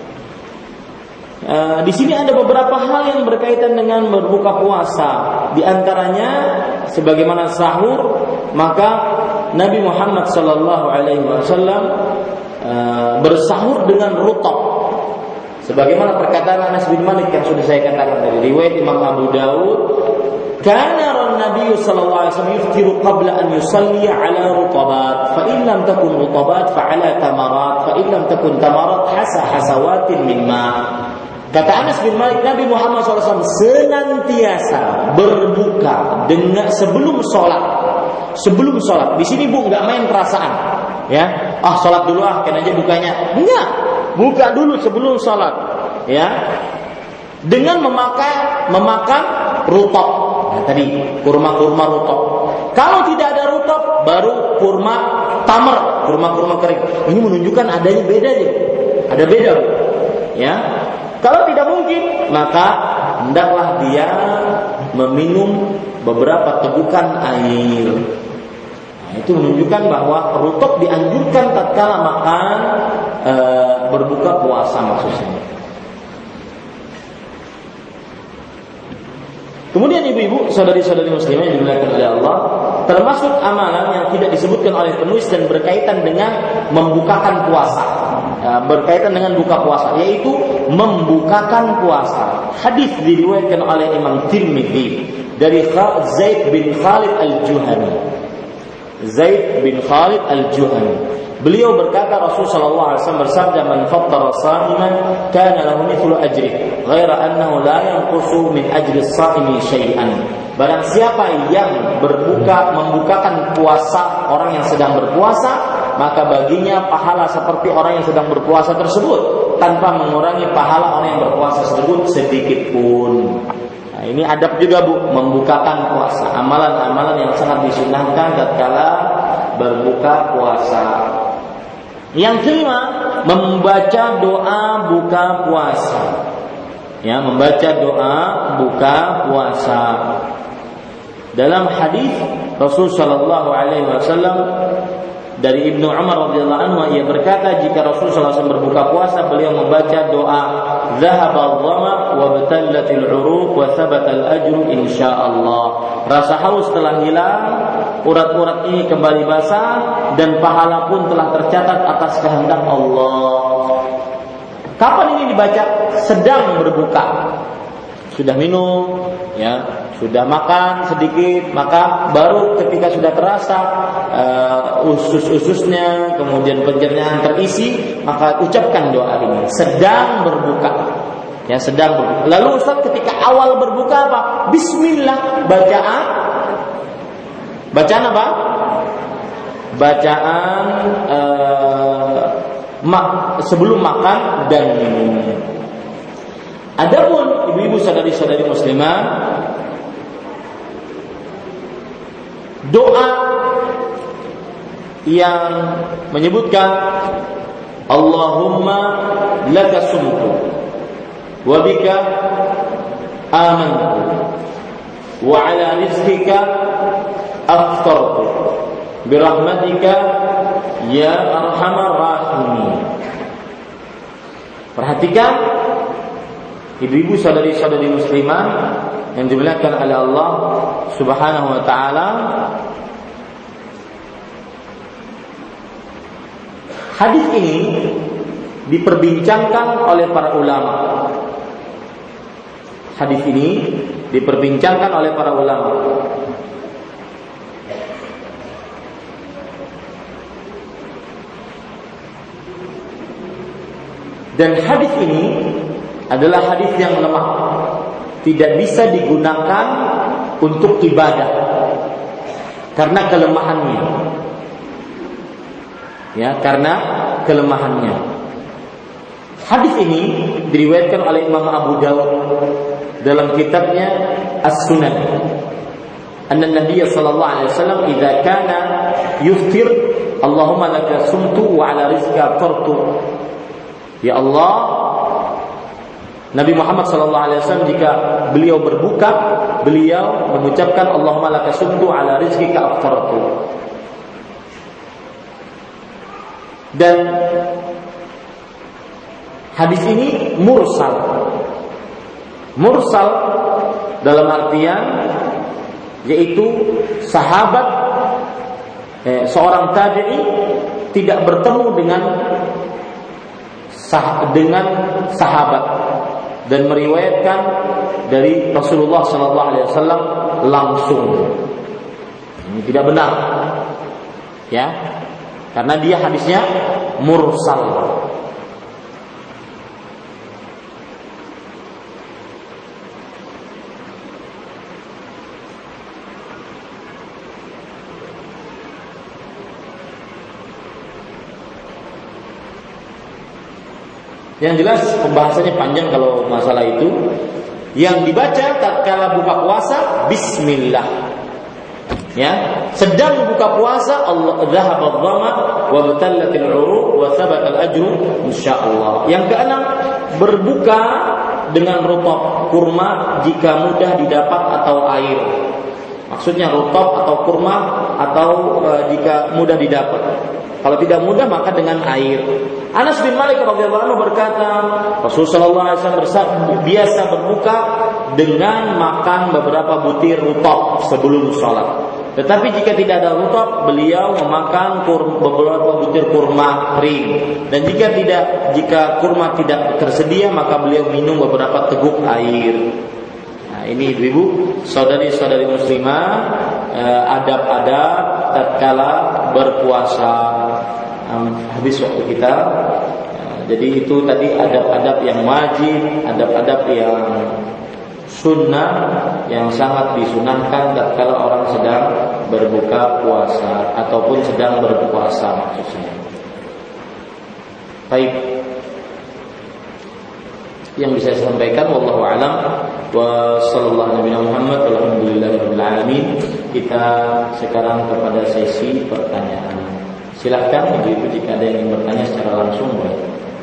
Di sini ada beberapa hal yang berkaitan dengan berbuka puasa. Di antaranya, sebagaimana sahur, maka Nabi Muhammad SAW bersahur dengan rutab. Sebagaimana perkataan Anas bin Malik yang sudah saya katakan tadi, riwayat Imam Abu Dawud, kana Nabi sallallahu alaihi wasallam yuftiru qabla an yusalli ala rutabat, fa in lam takun rutabat fa ala tamarat, fa in lam takun tamarat hasawatin min ma. Kata Anas bin Malik, Nabi Muhammad SAW senantiasa berbuka dengan sebelum sholat. Sebelum sholat. Di sini bu nggak main perasaan, ya. Sholat dulu kan aja bukanya. Enggak. Buka dulu sebelum sholat, ya, dengan memakan rutab. Nah, tadi kurma rutab. Kalau tidak ada rutab, baru kurma tamar, kurma kering. Ini menunjukkan adanya beda aja. Ada beda, ya. Kalau tidak mungkin, maka hendaklah dia meminum beberapa tegukan air. Itu menunjukkan bahwa rutab dianjurkan tatkala makan berbuka puasa maksudnya. Kemudian ibu-ibu, saudari-saudari muslimah yang dimuliakan oleh Allah, termasuk amalan yang tidak disebutkan oleh penulis dan berkaitan dengan membukakan puasa, berkaitan dengan buka puasa, yaitu membukakan puasa. Hadis diriwayatkan oleh Imam Tirmidzi dari Zaid bin Khalid al-Juhani. Zaid bin Khalid al-Juhani. Beliau berkata, Rasulullah SAW bersabda, "Man fattara sha'iman kana lahu mithlu ajri, ghaira annahu la yanqusu min ajri as-sha'imi syai'an." Barang siapa yang membukakan puasa orang yang sedang berpuasa, maka baginya pahala seperti orang yang sedang berpuasa tersebut, tanpa mengurangi pahala orang yang berpuasa tersebut sedikit pun. Nah, ini adab juga bu, membukakan puasa. Amalan-amalan yang sangat disunahkan tatkala berbuka puasa. Yang kelima, membaca doa buka puasa. Ya, membaca doa buka puasa. Dalam hadis Rasul sallallahu alaihi wasallam dari Ibnu Umar radhiyallahu anhu, ia berkata, jika Rasul sallallahu alaihi wasallam berbuka puasa, beliau membaca doa, "Dhahaba adh-dhama wa batallatil 'uruq wa thabata al-ajru insyaallah." Rasa haus telah hilang, urat-urat ini kembali basah, dan pahala pun telah tercatat atas kehendak Allah. Kapan ini dibaca? Sedang berbuka. Sudah minum, ya, sudah makan sedikit, maka baru ketika sudah terasa usus-ususnya, kemudian pencernaan terisi, maka ucapkan doa ini. Sedang berbuka. Ya, sedang berbuka. Lalu Ustaz, ketika awal berbuka apa? Bismillah, bacaan apa? Bacaan sebelum makan dan minum. Adapun ibu-ibu saudari-saudari muslimah, doa yang menyebutkan Allahumma laka sumtu wa bika amantu wa ala rizqika aftartu birahmatika ya arhamar rahimin. Perhatikan ibu-ibu saudari-saudari muslimah yang dimuliakan oleh Allah Subhanahu wa taala, Hadis ini diperbincangkan oleh para ulama. Hadis ini diperbincangkan oleh para ulama. Dan hadis ini adalah hadis yang lemah, tidak bisa digunakan untuk ibadah karena kelemahannya. Ya, karena kelemahannya. Hadis ini diriwayatkan oleh Imam Abu Dawud dalam kitabnya As-Sunan. Anna Nabiy sallallahu alaihi wasallam idza kana yuftir Allahumma laka sumtu wa ala rizqika aftartu. Ya Allah, Nabi Muhammad sallallahu alaihi wasallam jika beliau berbuka, beliau mengucapkan Allahumma laka sumtu ala rizqika aftartu. Dan hadis ini mursal. Mursal dalam artian yaitu sahabat seorang tabi'i tidak bertemu dengan sahabat dan meriwayatkan dari Rasulullah sallallahu alaihi wasallam langsung. Ini tidak benar. Ya. Karena dia hadisnya mursal. Yang jelas pembahasannya panjang kalau masalah itu. Yang dibaca tatkala buka puasa bismillah. Ya, sedang buka puasa Allah dhahaba dhama wa batallatil uruq wa thabata al-ajru insyaallah. Yang keenam, berbuka dengan rutab kurma jika mudah didapat atau air. Maksudnya rutab atau kurma atau jika mudah didapat. Kalau tidak mudah maka dengan air. Anas bin Malik radhiyallahu anhu berkata, Rasulullah SAW biasa berbuka dengan makan beberapa butir rutab sebelum sholat. Tetapi jika tidak ada rutab, beliau memakan beberapa butir kurma kering. Dan jika kurma tidak tersedia, maka beliau minum beberapa teguk air. Nah, ini ibu-ibu, saudari-saudari muslimah, adab-adab tatkala berpuasa. Habis waktu kita. Jadi itu tadi adab-adab yang wajib, adab-adab yang sunnah yang sangat disunahkan tatkala orang sedang berbuka puasa ataupun sedang berpuasa maksudnya. Baik. Yang bisa saya sampaikan wallahu alam wa sallallahu alaihi Muhammad walhamdulillahirabbil alamin. Kita sekarang kepada sesi pertanyaan. Silakan ibu-ibu jika ada yang ingin bertanya secara langsung boleh.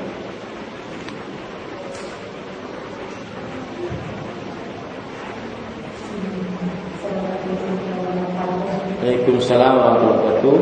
Waalaikumsalam warahmatullahi wabarakatuh.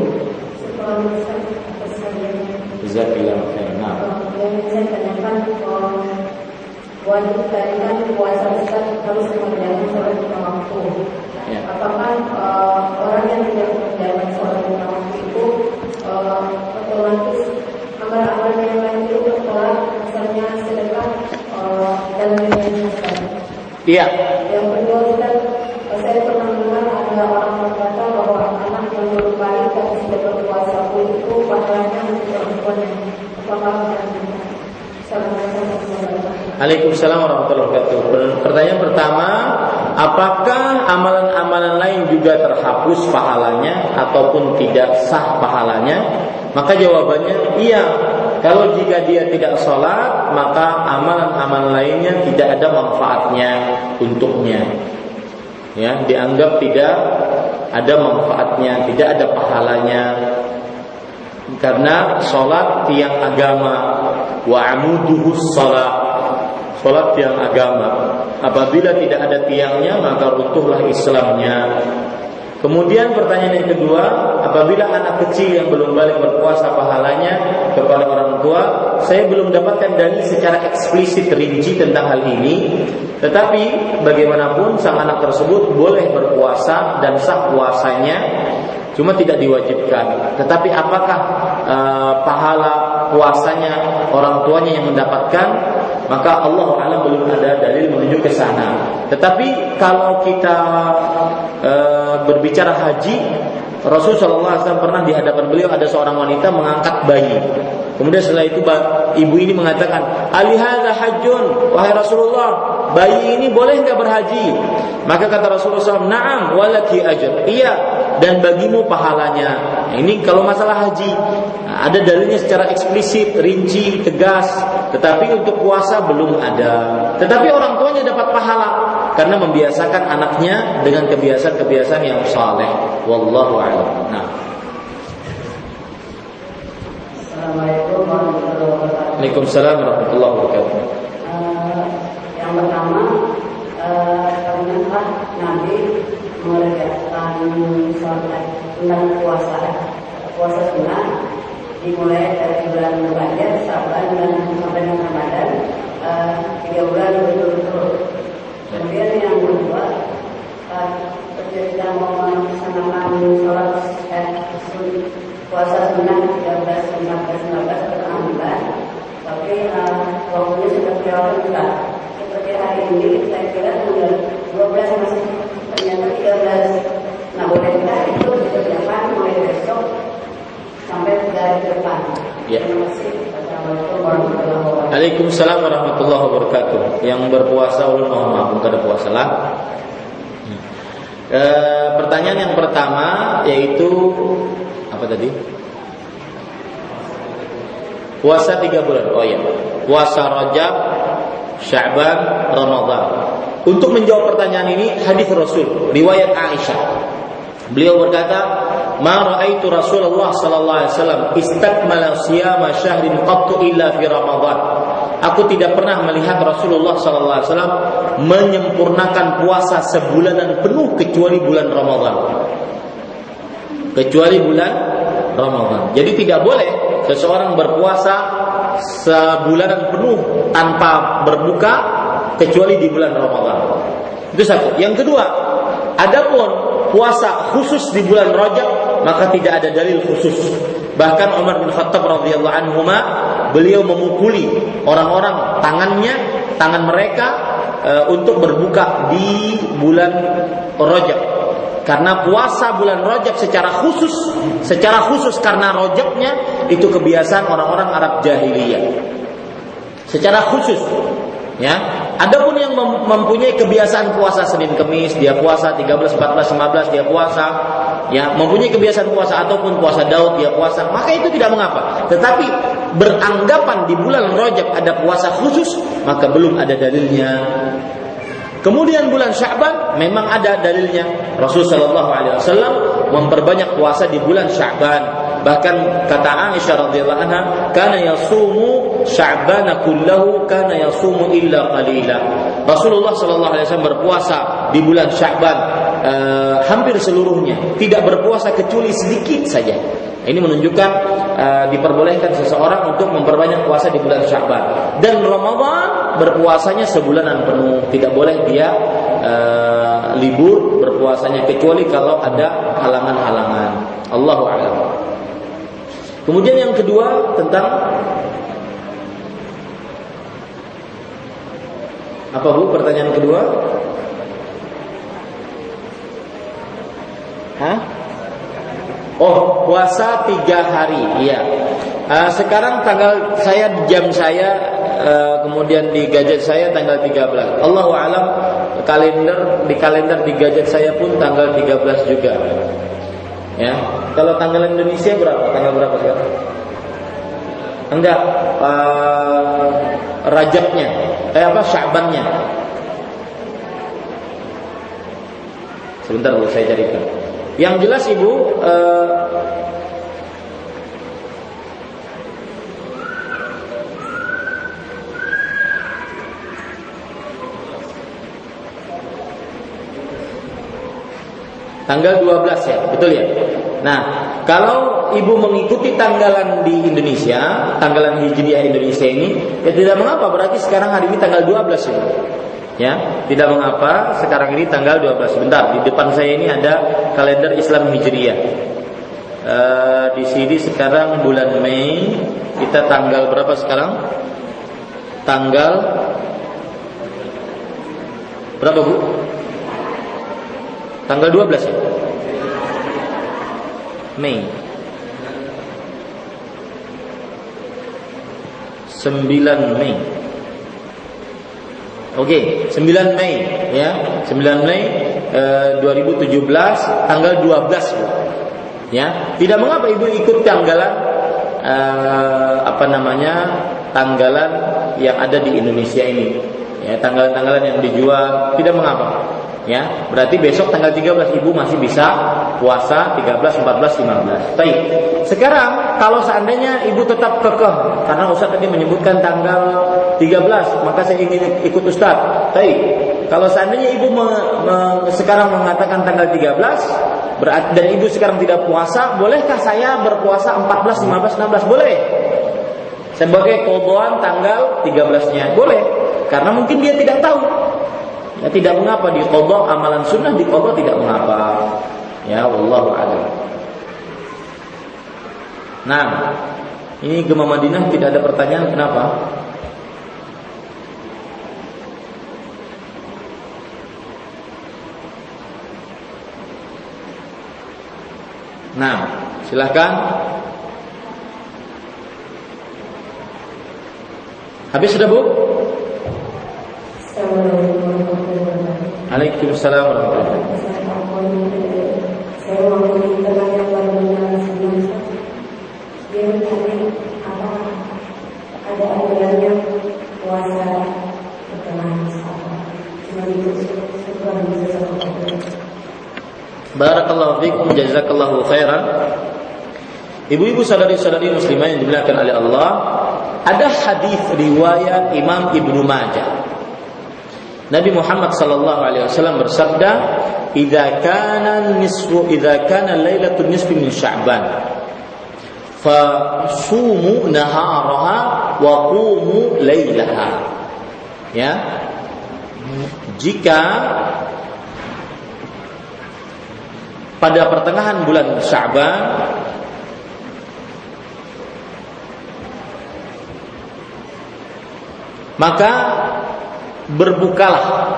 Jazakallahu khairan. Yang saya tanyakan wajib kan puasa besar harus mengerjakan sholat lima waktu. Ya. Apakah orang yang tidak mengerjakan sholat lima waktu itu otomatis amal-amal yang lain itu tertolak, misalnya sedekah dan lain-lain? Iya. Yang kedua Ustaz, saya pernah dengar ada orang berkata bahwa anak yang baru balik tapi sudah berpuasa pun itu pahalanya untuk perempuan yang apakah Waalaikumsalam warahmatullahi wabarakatuh. Pertanyaan pertama, apakah amalan-amalan lain juga terhapus pahalanya ataupun tidak sah pahalanya? Maka jawabannya iya. Kalau jika dia tidak sholat, maka amalan-amalan lainnya tidak ada manfaatnya untuknya. Ya, dianggap tidak ada manfaatnya, tidak ada pahalanya. Karena sholat tiang agama, wa amuduhus sholat, sholat tiang agama. Apabila tidak ada tiangnya maka runtuhlah Islamnya. Kemudian pertanyaan yang kedua, apabila anak kecil yang belum balik berpuasa pahalanya kepada orang tua, saya belum dapatkan dalil secara eksplisit rinci tentang hal ini. Tetapi bagaimanapun sang anak tersebut boleh berpuasa dan sah puasanya, cuma tidak diwajibkan. Tetapi apakah pahala puasanya orang tuanya yang mendapatkan, maka Allah alam belum ada dalil menuju ke sana. Tetapi kalau kita berbicara haji, Rasulullah SAW pernah di hadapan beliau ada seorang wanita mengangkat bayi. Kemudian setelah itu ibu ini mengatakan, "Alihadza hajjun?" Wahai Rasulullah, bayi ini boleh enggak berhaji? Maka kata Rasulullah SAW, "Na'am walaki ajr." Iya, dan bagimu pahalanya. Ini kalau masalah haji, ada dalilnya secara eksplisit, rinci, tegas. Tetapi untuk puasa belum ada. Tetapi orang tuanya dapat pahala karena membiasakan anaknya dengan kebiasaan-kebiasaan yang saleh. Wallahu a'lam. Nah. Assalamualaikum warahmatullahi wabarakatuh. Waalaikumsalam warahmatullahi wabarakatuh. Yang pertama, pernah Nabi mengerjakan sholat tentang puasa sunnah dimulai dari bulan Rajab, Syaban dan sampai dengan Ramadan, 3 bulan berturut-turut. Kemudian yang kedua, ketika mau melaksanakan sholat puasa sunnah 13, 14, 15 bulan, tapi waktunya sudah kelewatan. Seperti hari ini, saya kira tanggal 12 masih ternyata 13. Nah, bolehkah itu dikerjakan mulai besok sampai dari depan? Ya. Terima kasih. Assalamualaikum warahmatullahi wabarakatuh. Waalaikumsalam warahmatullahi wabarakatuh. Yang berpuasa ulun mohon maaf, bukan ada puasa lah. Pertanyaan yang pertama yaitu apa tadi? Puasa 3 bulan. Oh ya, puasa Rajab, Sya'ban, Ramadan. Untuk menjawab pertanyaan ini, hadis Rasul, riwayat Aisyah. Beliau berkata, "Ma ra'aitu Rasulullah sallallahu alaihi wasallam istakmala siyama syahrin qattu illa fi Ramadan." Aku tidak pernah melihat Rasulullah sallallahu alaihi wasallam menyempurnakan puasa sebulanan penuh kecuali bulan Ramadan. Kecuali bulan Ramadan. Jadi tidak boleh seseorang berpuasa sebulanan penuh tanpa berbuka kecuali di bulan Ramadan. Itu satu. Yang kedua, adapun puasa khusus di bulan Rajab maka tidak ada dalil khusus. Bahkan Umar bin Khattab radhiyallahu anhuma, beliau memukuli orang-orang tangan mereka untuk berbuka di bulan Rajab. Karena puasa bulan Rajab secara khusus karena Rajabnya itu kebiasaan orang-orang Arab jahiliyah. Secara khusus, ya. Adapun yang mempunyai kebiasaan puasa Senin Kemis, dia puasa 13, 14, 15 dia puasa, ya, mempunyai kebiasaan puasa ataupun puasa Daud dia puasa, maka itu tidak mengapa. Tetapi beranggapan di bulan Rajab ada puasa khusus, maka belum ada dalilnya. Kemudian bulan Sya'ban memang ada dalilnya. Rasulullah SAW memperbanyak puasa di bulan Sya'ban. Bahkan kata Aisyah radhiyallahu anha, "Kana yasumu Sya'bana kullahu, kana yasumu illa qalila." Rasulullah sallallahu alaihi wasallam berpuasa di bulan Sya'ban hampir seluruhnya, tidak berpuasa kecuali sedikit saja. Ini menunjukkan diperbolehkan seseorang untuk memperbanyak puasa di bulan Sya'ban. Dan Ramadan berpuasanya sebulanan penuh, tidak boleh dia libur berpuasanya kecuali kalau ada halangan-halangan. Allahu a'lam. Kemudian yang kedua tentang apa Bu? Pertanyaan kedua? Oh, puasa 3 hari. Iya. Sekarang jam saya kemudian di gadget saya tanggal 13. Allahu a'lam, di kalender di gadget saya pun tanggal 13 juga. Ya. Kalau tanggal Indonesia berapa? Tanggal berapa sekarang? Enggak, Rajabnya. Sya'bannya. Sebentar saya carikan. Yang jelas Ibu, tanggal 12 ya, betul ya? Nah, kalau Ibu mengikuti tanggalan di Indonesia, tanggalan Hijriah Indonesia ini, ya tidak mengapa, berarti sekarang hari ini tanggal 12 Ibu. Ya, tidak mengapa, sekarang ini tanggal 12. Sebentar, di depan saya ini ada kalender Islam Hijriah. Di sini sekarang bulan Mei, kita tanggal berapa sekarang? Tanggal berapa, Bu? Tanggal 12 ya? Mei. 9 Mei. Oke, 9 Mei ya. 9 Mei 2017 tanggal 12, Bu. Ya, tidak mengapa Ibu ikut tanggalan tanggalan yang ada di Indonesia ini. Ya, tanggalan-tanggalan yang dijual tidak mengapa. Ya, berarti besok tanggal 13 Ibu masih bisa puasa 13, 14, 15. Baik. Sekarang kalau seandainya Ibu tetap kekeh karena Ustaz tadi menyebutkan tanggal 13, maka saya ingin ikut Ustaz. Baik. Kalau seandainya Ibu sekarang mengatakan tanggal 13 berarti, dan Ibu sekarang tidak puasa, bolehkah saya berpuasa 14, 15, 16? Boleh. Sebagai qadhaan tanggal 13-nya. Boleh. Karena mungkin dia tidak tahu. Ya, tidak mengapa diqadha amalan sunnah, diqadha tidak mengapa. Ya, wallahu a'lam. Nah, ini Gema Madinah tidak ada pertanyaan, kenapa? Nah, silahkan. Habis sudah, Bu? Waalaikumsalam warahmatullahi wabarakatuh. Saya mau bertanya yang baru sebelum dia bertanya apa ada aturannya puasa setelah Mustafa. Cuma itu setelah bisa. Barakallahu fikum, jazakallahu khairan. Ibu-ibu saudari-saudari muslimah yang dimuliakan oleh Allah, ada hadis riwayat Imam Ibnu Majah. Nabi Muhammad sallallahu alaihi wasallam bersabda, "Idza kana lailatul nisfi min Sya'ban, fasumu naharaha wa qumu lailaha." Ya. Jika pada pertengahan bulan Sya'ban maka berbukalah,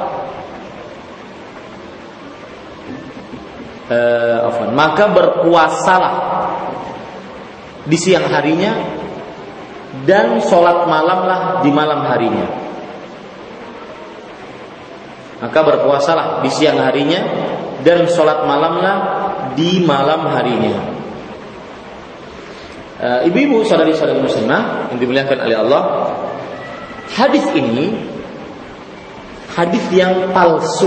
maka berpuasalah di siang harinya dan sholat malamlah di malam harinya. Maka berpuasalah di siang harinya dan sholat malamlah di malam harinya. Ibu-ibu saudari-saudari muslimah yang dimuliakan oleh Allah, hadis ini hadis yang palsu.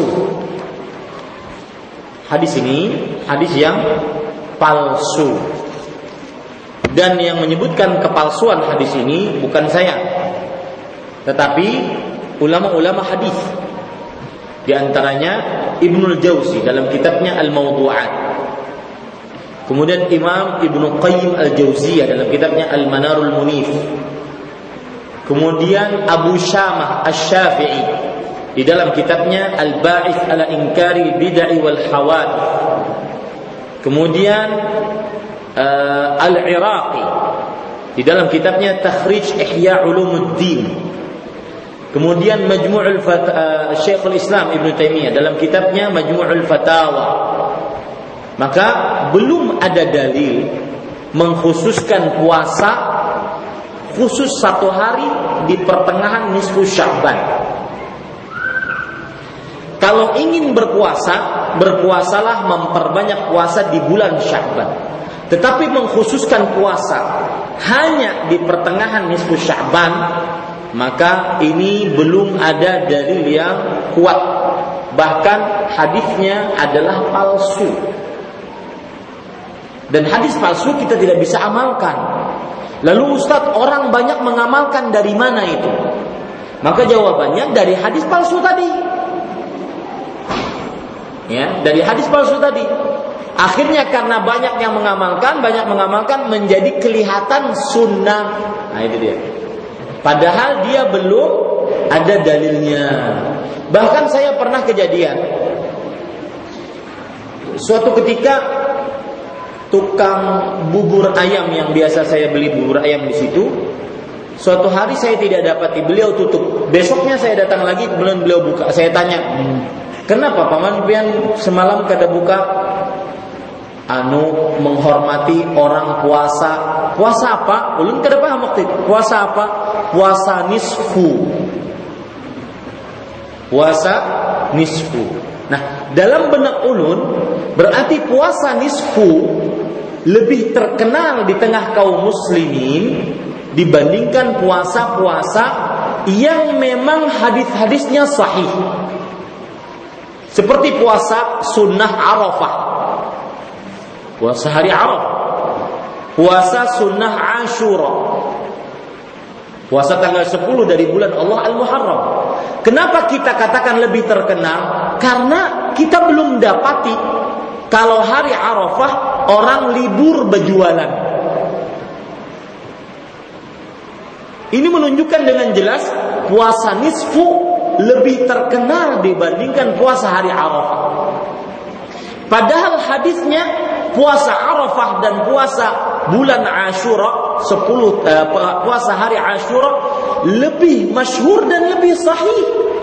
Hadis ini hadis yang palsu. Dan yang menyebutkan kepalsuan hadis ini bukan saya, tetapi ulama-ulama hadis. Di antaranya Ibnul Jauzi dalam kitabnya Al-Mawdu'at. Kemudian Imam Ibnu Qayyim Al-Jauziyah dalam kitabnya Al-Manarul Munif. Kemudian Abu Syamah Asy-Syafi'i di dalam kitabnya Al-Ba'its ala Inkari Bid'ah wal Hawadits. Kemudian Al-Iraqi di dalam kitabnya Takhrij Ihya Ulumuddin. Kemudian Majmu'ul Syekhul Islam Ibnu Taimiyah dalam kitabnya Majmu'ul Fatawa. Maka belum ada dalil mengkhususkan puasa khusus satu hari di pertengahan nisfu Sya'ban. Kalau ingin berpuasa, berpuasalah memperbanyak puasa di bulan Sya'ban. Tetapi mengkhususkan puasa hanya di pertengahan nisfu Sya'ban, maka ini belum ada dalil yang kuat. Bahkan hadisnya adalah palsu. Dan hadis palsu kita tidak bisa amalkan. Lalu Ustaz, orang banyak mengamalkan dari mana itu? Maka jawabannya dari hadis palsu tadi. Ya, dari hadis palsu tadi. Akhirnya karena banyak yang mengamalkan, menjadi kelihatan sunnah. Nah itu dia. Padahal dia belum ada dalilnya. Bahkan saya pernah kejadian. Suatu ketika tukang bubur ayam yang biasa saya beli bubur ayam di situ. Suatu hari saya tidak dapati, beliau tutup. Besoknya saya datang lagi, kemudian beliau buka. Saya tanya, kenapa paman pian semalam kada buka? Menghormati orang puasa. Puasa apa? Ulun kada paham waktu itu. Puasa apa? Puasa nisfu. Puasa nisfu. Nah, dalam benak ulun berarti puasa nisfu lebih terkenal di tengah kaum muslimin dibandingkan puasa-puasa yang memang hadis-hadisnya sahih. Seperti puasa sunnah Arafah, puasa hari Arafah, puasa sunnah Ashura, puasa tanggal 10 dari bulan Allah Al-Muharram. Kenapa kita katakan lebih terkenal? Karena kita belum dapati kalau hari Arafah orang libur berjualan. Ini menunjukkan dengan jelas puasa nisfu lebih terkenal dibandingkan puasa hari Arafah. Padahal hadisnya puasa Arafah dan puasa bulan Ashura, puasa hari Ashura lebih masyhur dan lebih sahih.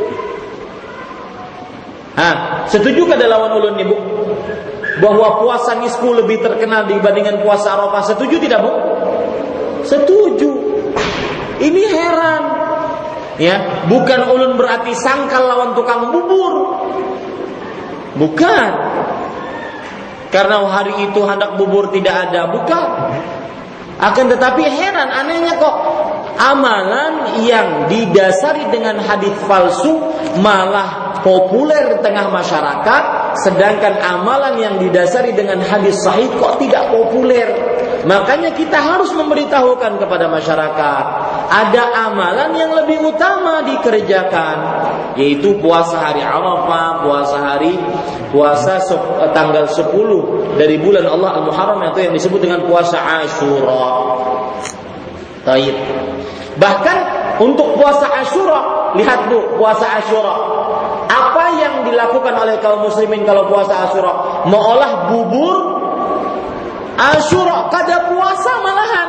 Setujukah lawan ulun Ibu bahwa puasa nisfu lebih terkenal dibandingkan puasa Arafah? Setuju tidak, Bu? Setuju. Ini heran. Ya, bukan ulun berarti sangkal lawan tukang bubur. Bukan. Karena hari itu hendak bubur tidak ada, bukan. Akan tetapi heran, anehnya kok amalan yang didasari dengan hadis palsu malah populer di tengah masyarakat, sedangkan amalan yang didasari dengan hadis sahih kok tidak populer. Makanya kita harus memberitahukan kepada masyarakat, ada amalan yang lebih utama dikerjakan, yaitu puasa hari Arafah, puasa tanggal 10 dari bulan Allah Al-Muharram, itu yang disebut dengan puasa Ashura. Baik. Bahkan untuk puasa Ashura, lihat Bu, puasa Ashura. Apa yang dilakukan oleh kaum muslimin kalau puasa Ashura? Mengolah bubur Ashura, kada puasa malahan.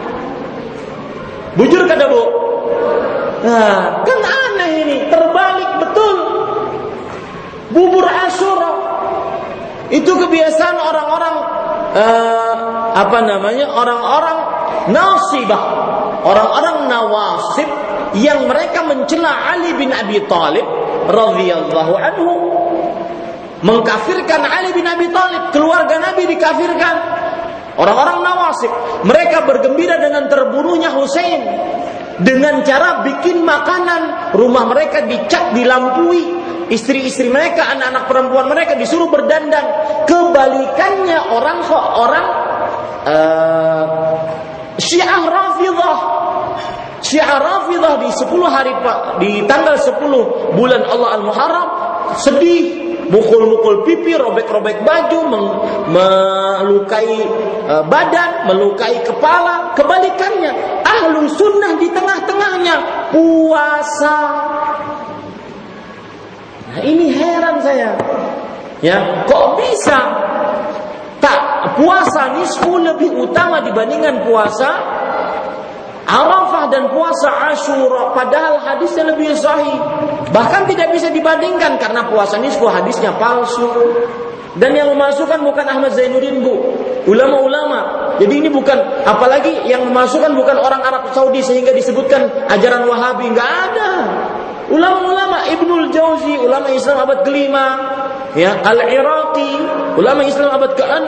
Bujur kada Bu? Nah, kan aneh ini, terbalik betul. Bubur Ashura itu kebiasaan orang-orang orang-orang nasibah, orang-orang nawasib yang mereka mencela Ali bin Abi Thalib radhiyallahu anhu, mengkafirkan Ali bin Abi Thalib, keluarga Nabi dikafirkan. Orang-orang nawasib, mereka bergembira dengan terbunuhnya Husain dengan cara bikin makanan, rumah mereka dicat, dilampui, istri-istri mereka, anak-anak perempuan mereka disuruh berdandan. Kebalikannya orang Syiah Rafidhah. Syiah Rafidhah di tanggal 10 bulan Allah Al-Muharram sedih, mukul-mukul pipi, robek-robek baju, melukai badan, melukai kepala. Kebalikannya, ahlu sunnah di tengah-tengahnya puasa. Nah, ini heran saya. Ya, kok bisa puasa nisfu lebih utama dibandingkan puasa Arafah dan puasa Ashura, padahal hadisnya lebih sahih. Bahkan tidak bisa dibandingkan karena puasa nisfu hadisnya palsu. Dan yang memasukkan bukan Ahmad Zainuddin Bu, ulama-ulama. Jadi ini bukan, apalagi yang memasukkan bukan orang Arab Saudi sehingga disebutkan ajaran Wahabi, enggak ada. Ulama-ulama, Ibnul Jauzi, ulama Islam abad ke-5, ya, Al-Iraqi, ulama Islam abad ke-6.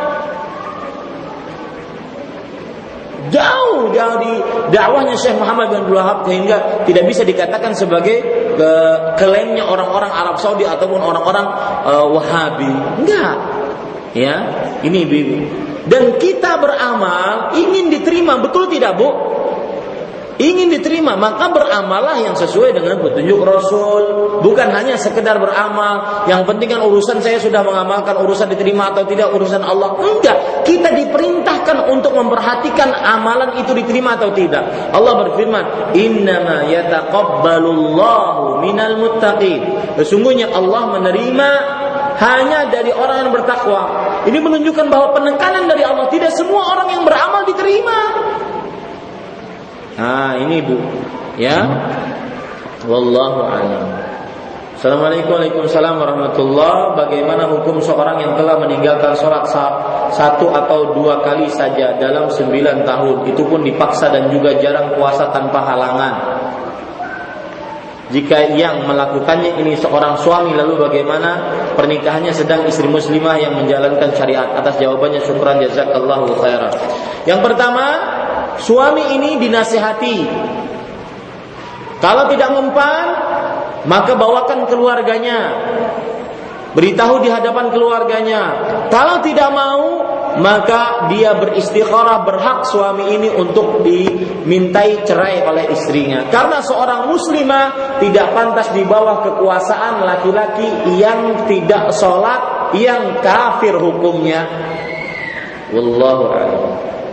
Jauh di dakwahnya Syekh Muhammad bin Abdul Wahab, sehingga tidak bisa dikatakan sebagai klaimnya orang-orang Arab Saudi ataupun orang-orang Wahabi. Enggak. Ya, ini Ibu. Dan kita beramal ingin diterima, betul tidak Bu? Ingin diterima, maka beramallah yang sesuai dengan petunjuk Rasul. Bukan hanya sekedar beramal, yang penting kan urusan saya sudah mengamalkan, urusan diterima atau tidak urusan Allah. Enggak, kita diperintahkan untuk memperhatikan amalan itu diterima atau tidak. Allah berfirman, "Innama yataqabbalullahu minal muttaqin." Sesungguhnya Allah menerima hanya dari orang yang bertakwa. Ini menunjukkan bahwa penekanan dari Allah, tidak semua orang yang beramal diterima. Nah, ini Bu, ya. Wallahu a'lam. Assalamualaikum warahmatullahi. Bagaimana hukum seorang yang telah meninggalkan sholat satu atau dua kali saja dalam 9 tahun, itu pun dipaksa dan juga jarang puasa tanpa halangan? Jika yang melakukannya ini seorang suami, lalu bagaimana pernikahannya sedang istri muslimah yang menjalankan syariat? Atas jawabannya syukran jazakallahu khairan. Yang pertama, suami ini dinasihati. Kalau tidak mempan, maka bawakan keluarganya, beritahu di hadapan keluarganya. Kalau tidak mau, maka dia beristikharah, berhak suami ini untuk dimintai cerai oleh istrinya. Karena seorang muslimah tidak pantas di bawah kekuasaan laki-laki yang tidak sholat, yang kafir hukumnya. Wallahu a'lam.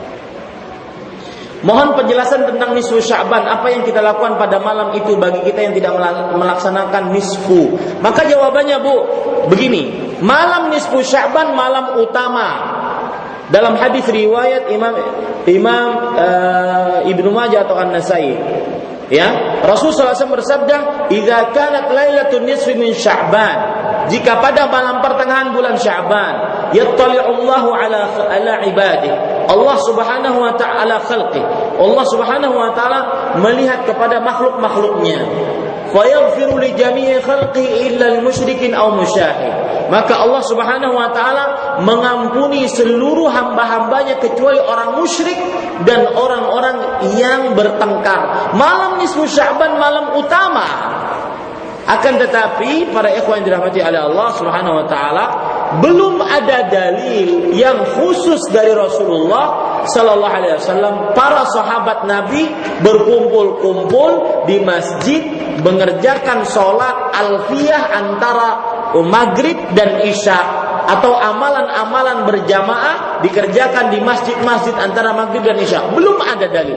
Mohon penjelasan tentang nisfu Sya'ban. Apa yang kita lakukan pada malam itu bagi kita yang tidak melaksanakan nisfu? Maka jawabannya Bu, begini. Malam nisfu Sya'ban malam utama. Dalam hadis riwayat Imam Ibnu Majah atau An-Nasai, ya, Rasulullah SAW bersabda, "Idza kanat lailatul nisfi min Sya'ban." Jika pada malam pertengahan bulan Sya'ban, yattali'ullahu ala ibadihi. Allah Subhanahu wa ta'ala khalqi. Allah Subhanahu wa ta'ala melihat kepada makhluk-makhluknya. Fayaghfiru li jami'i khalqi illa al-musyrikin aw musyahid. Maka Allah Subhanahu wa ta'ala mengampuni seluruh hamba-hambanya kecuali orang musyrik dan orang-orang yang bertengkar. Malam nisfu Sya'ban malam utama. Akan tetapi para ikhwan yang dirahmati oleh Allah Subhanahu wa ta'ala, belum ada dalil yang khusus dari Rasulullah sallallahu alaihi wasallam para sahabat Nabi berkumpul-kumpul di masjid mengerjakan salat alfiyah antara maghrib dan isya, atau amalan-amalan berjamaah dikerjakan di masjid-masjid antara maghrib dan isya. Belum ada dalil.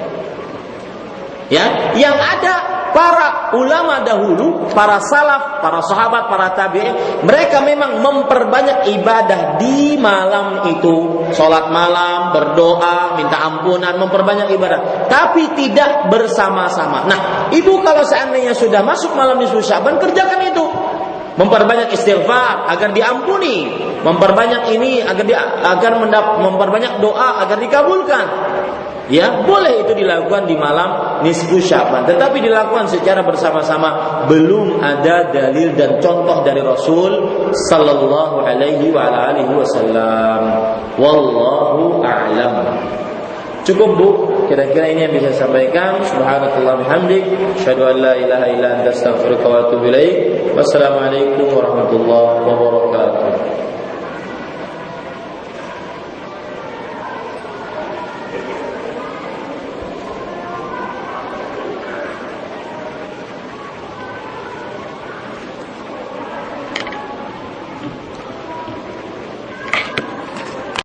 Ya, yang ada para ulama dahulu, para salaf, para sahabat, para tabi'in, mereka memang memperbanyak ibadah di malam itu. Salat malam, berdoa, minta ampunan, memperbanyak ibadah, tapi tidak bersama-sama. Nah, ibu kalau seandainya sudah masuk malam nisfu Sya'ban, kerjakan itu. Memperbanyak istighfar agar diampuni, memperbanyak ini agar memperbanyak doa agar dikabulkan. Ya, boleh itu dilakukan di malam nisfu Sya'ban, tetapi dilakukan secara bersama-sama. Belum ada dalil dan contoh dari Rasul sallallahu alaihi wa alihi wasallam. Wallahu a'lam. Cukup Bu, kira-kira ini yang bisa saya sampaikan. Subhanakallah bihamdik, asyhadu an la ilaha illa anta astaghfiruka wa atubu ilaik. Wassalamualaikum warahmatullahi wabarakatuh.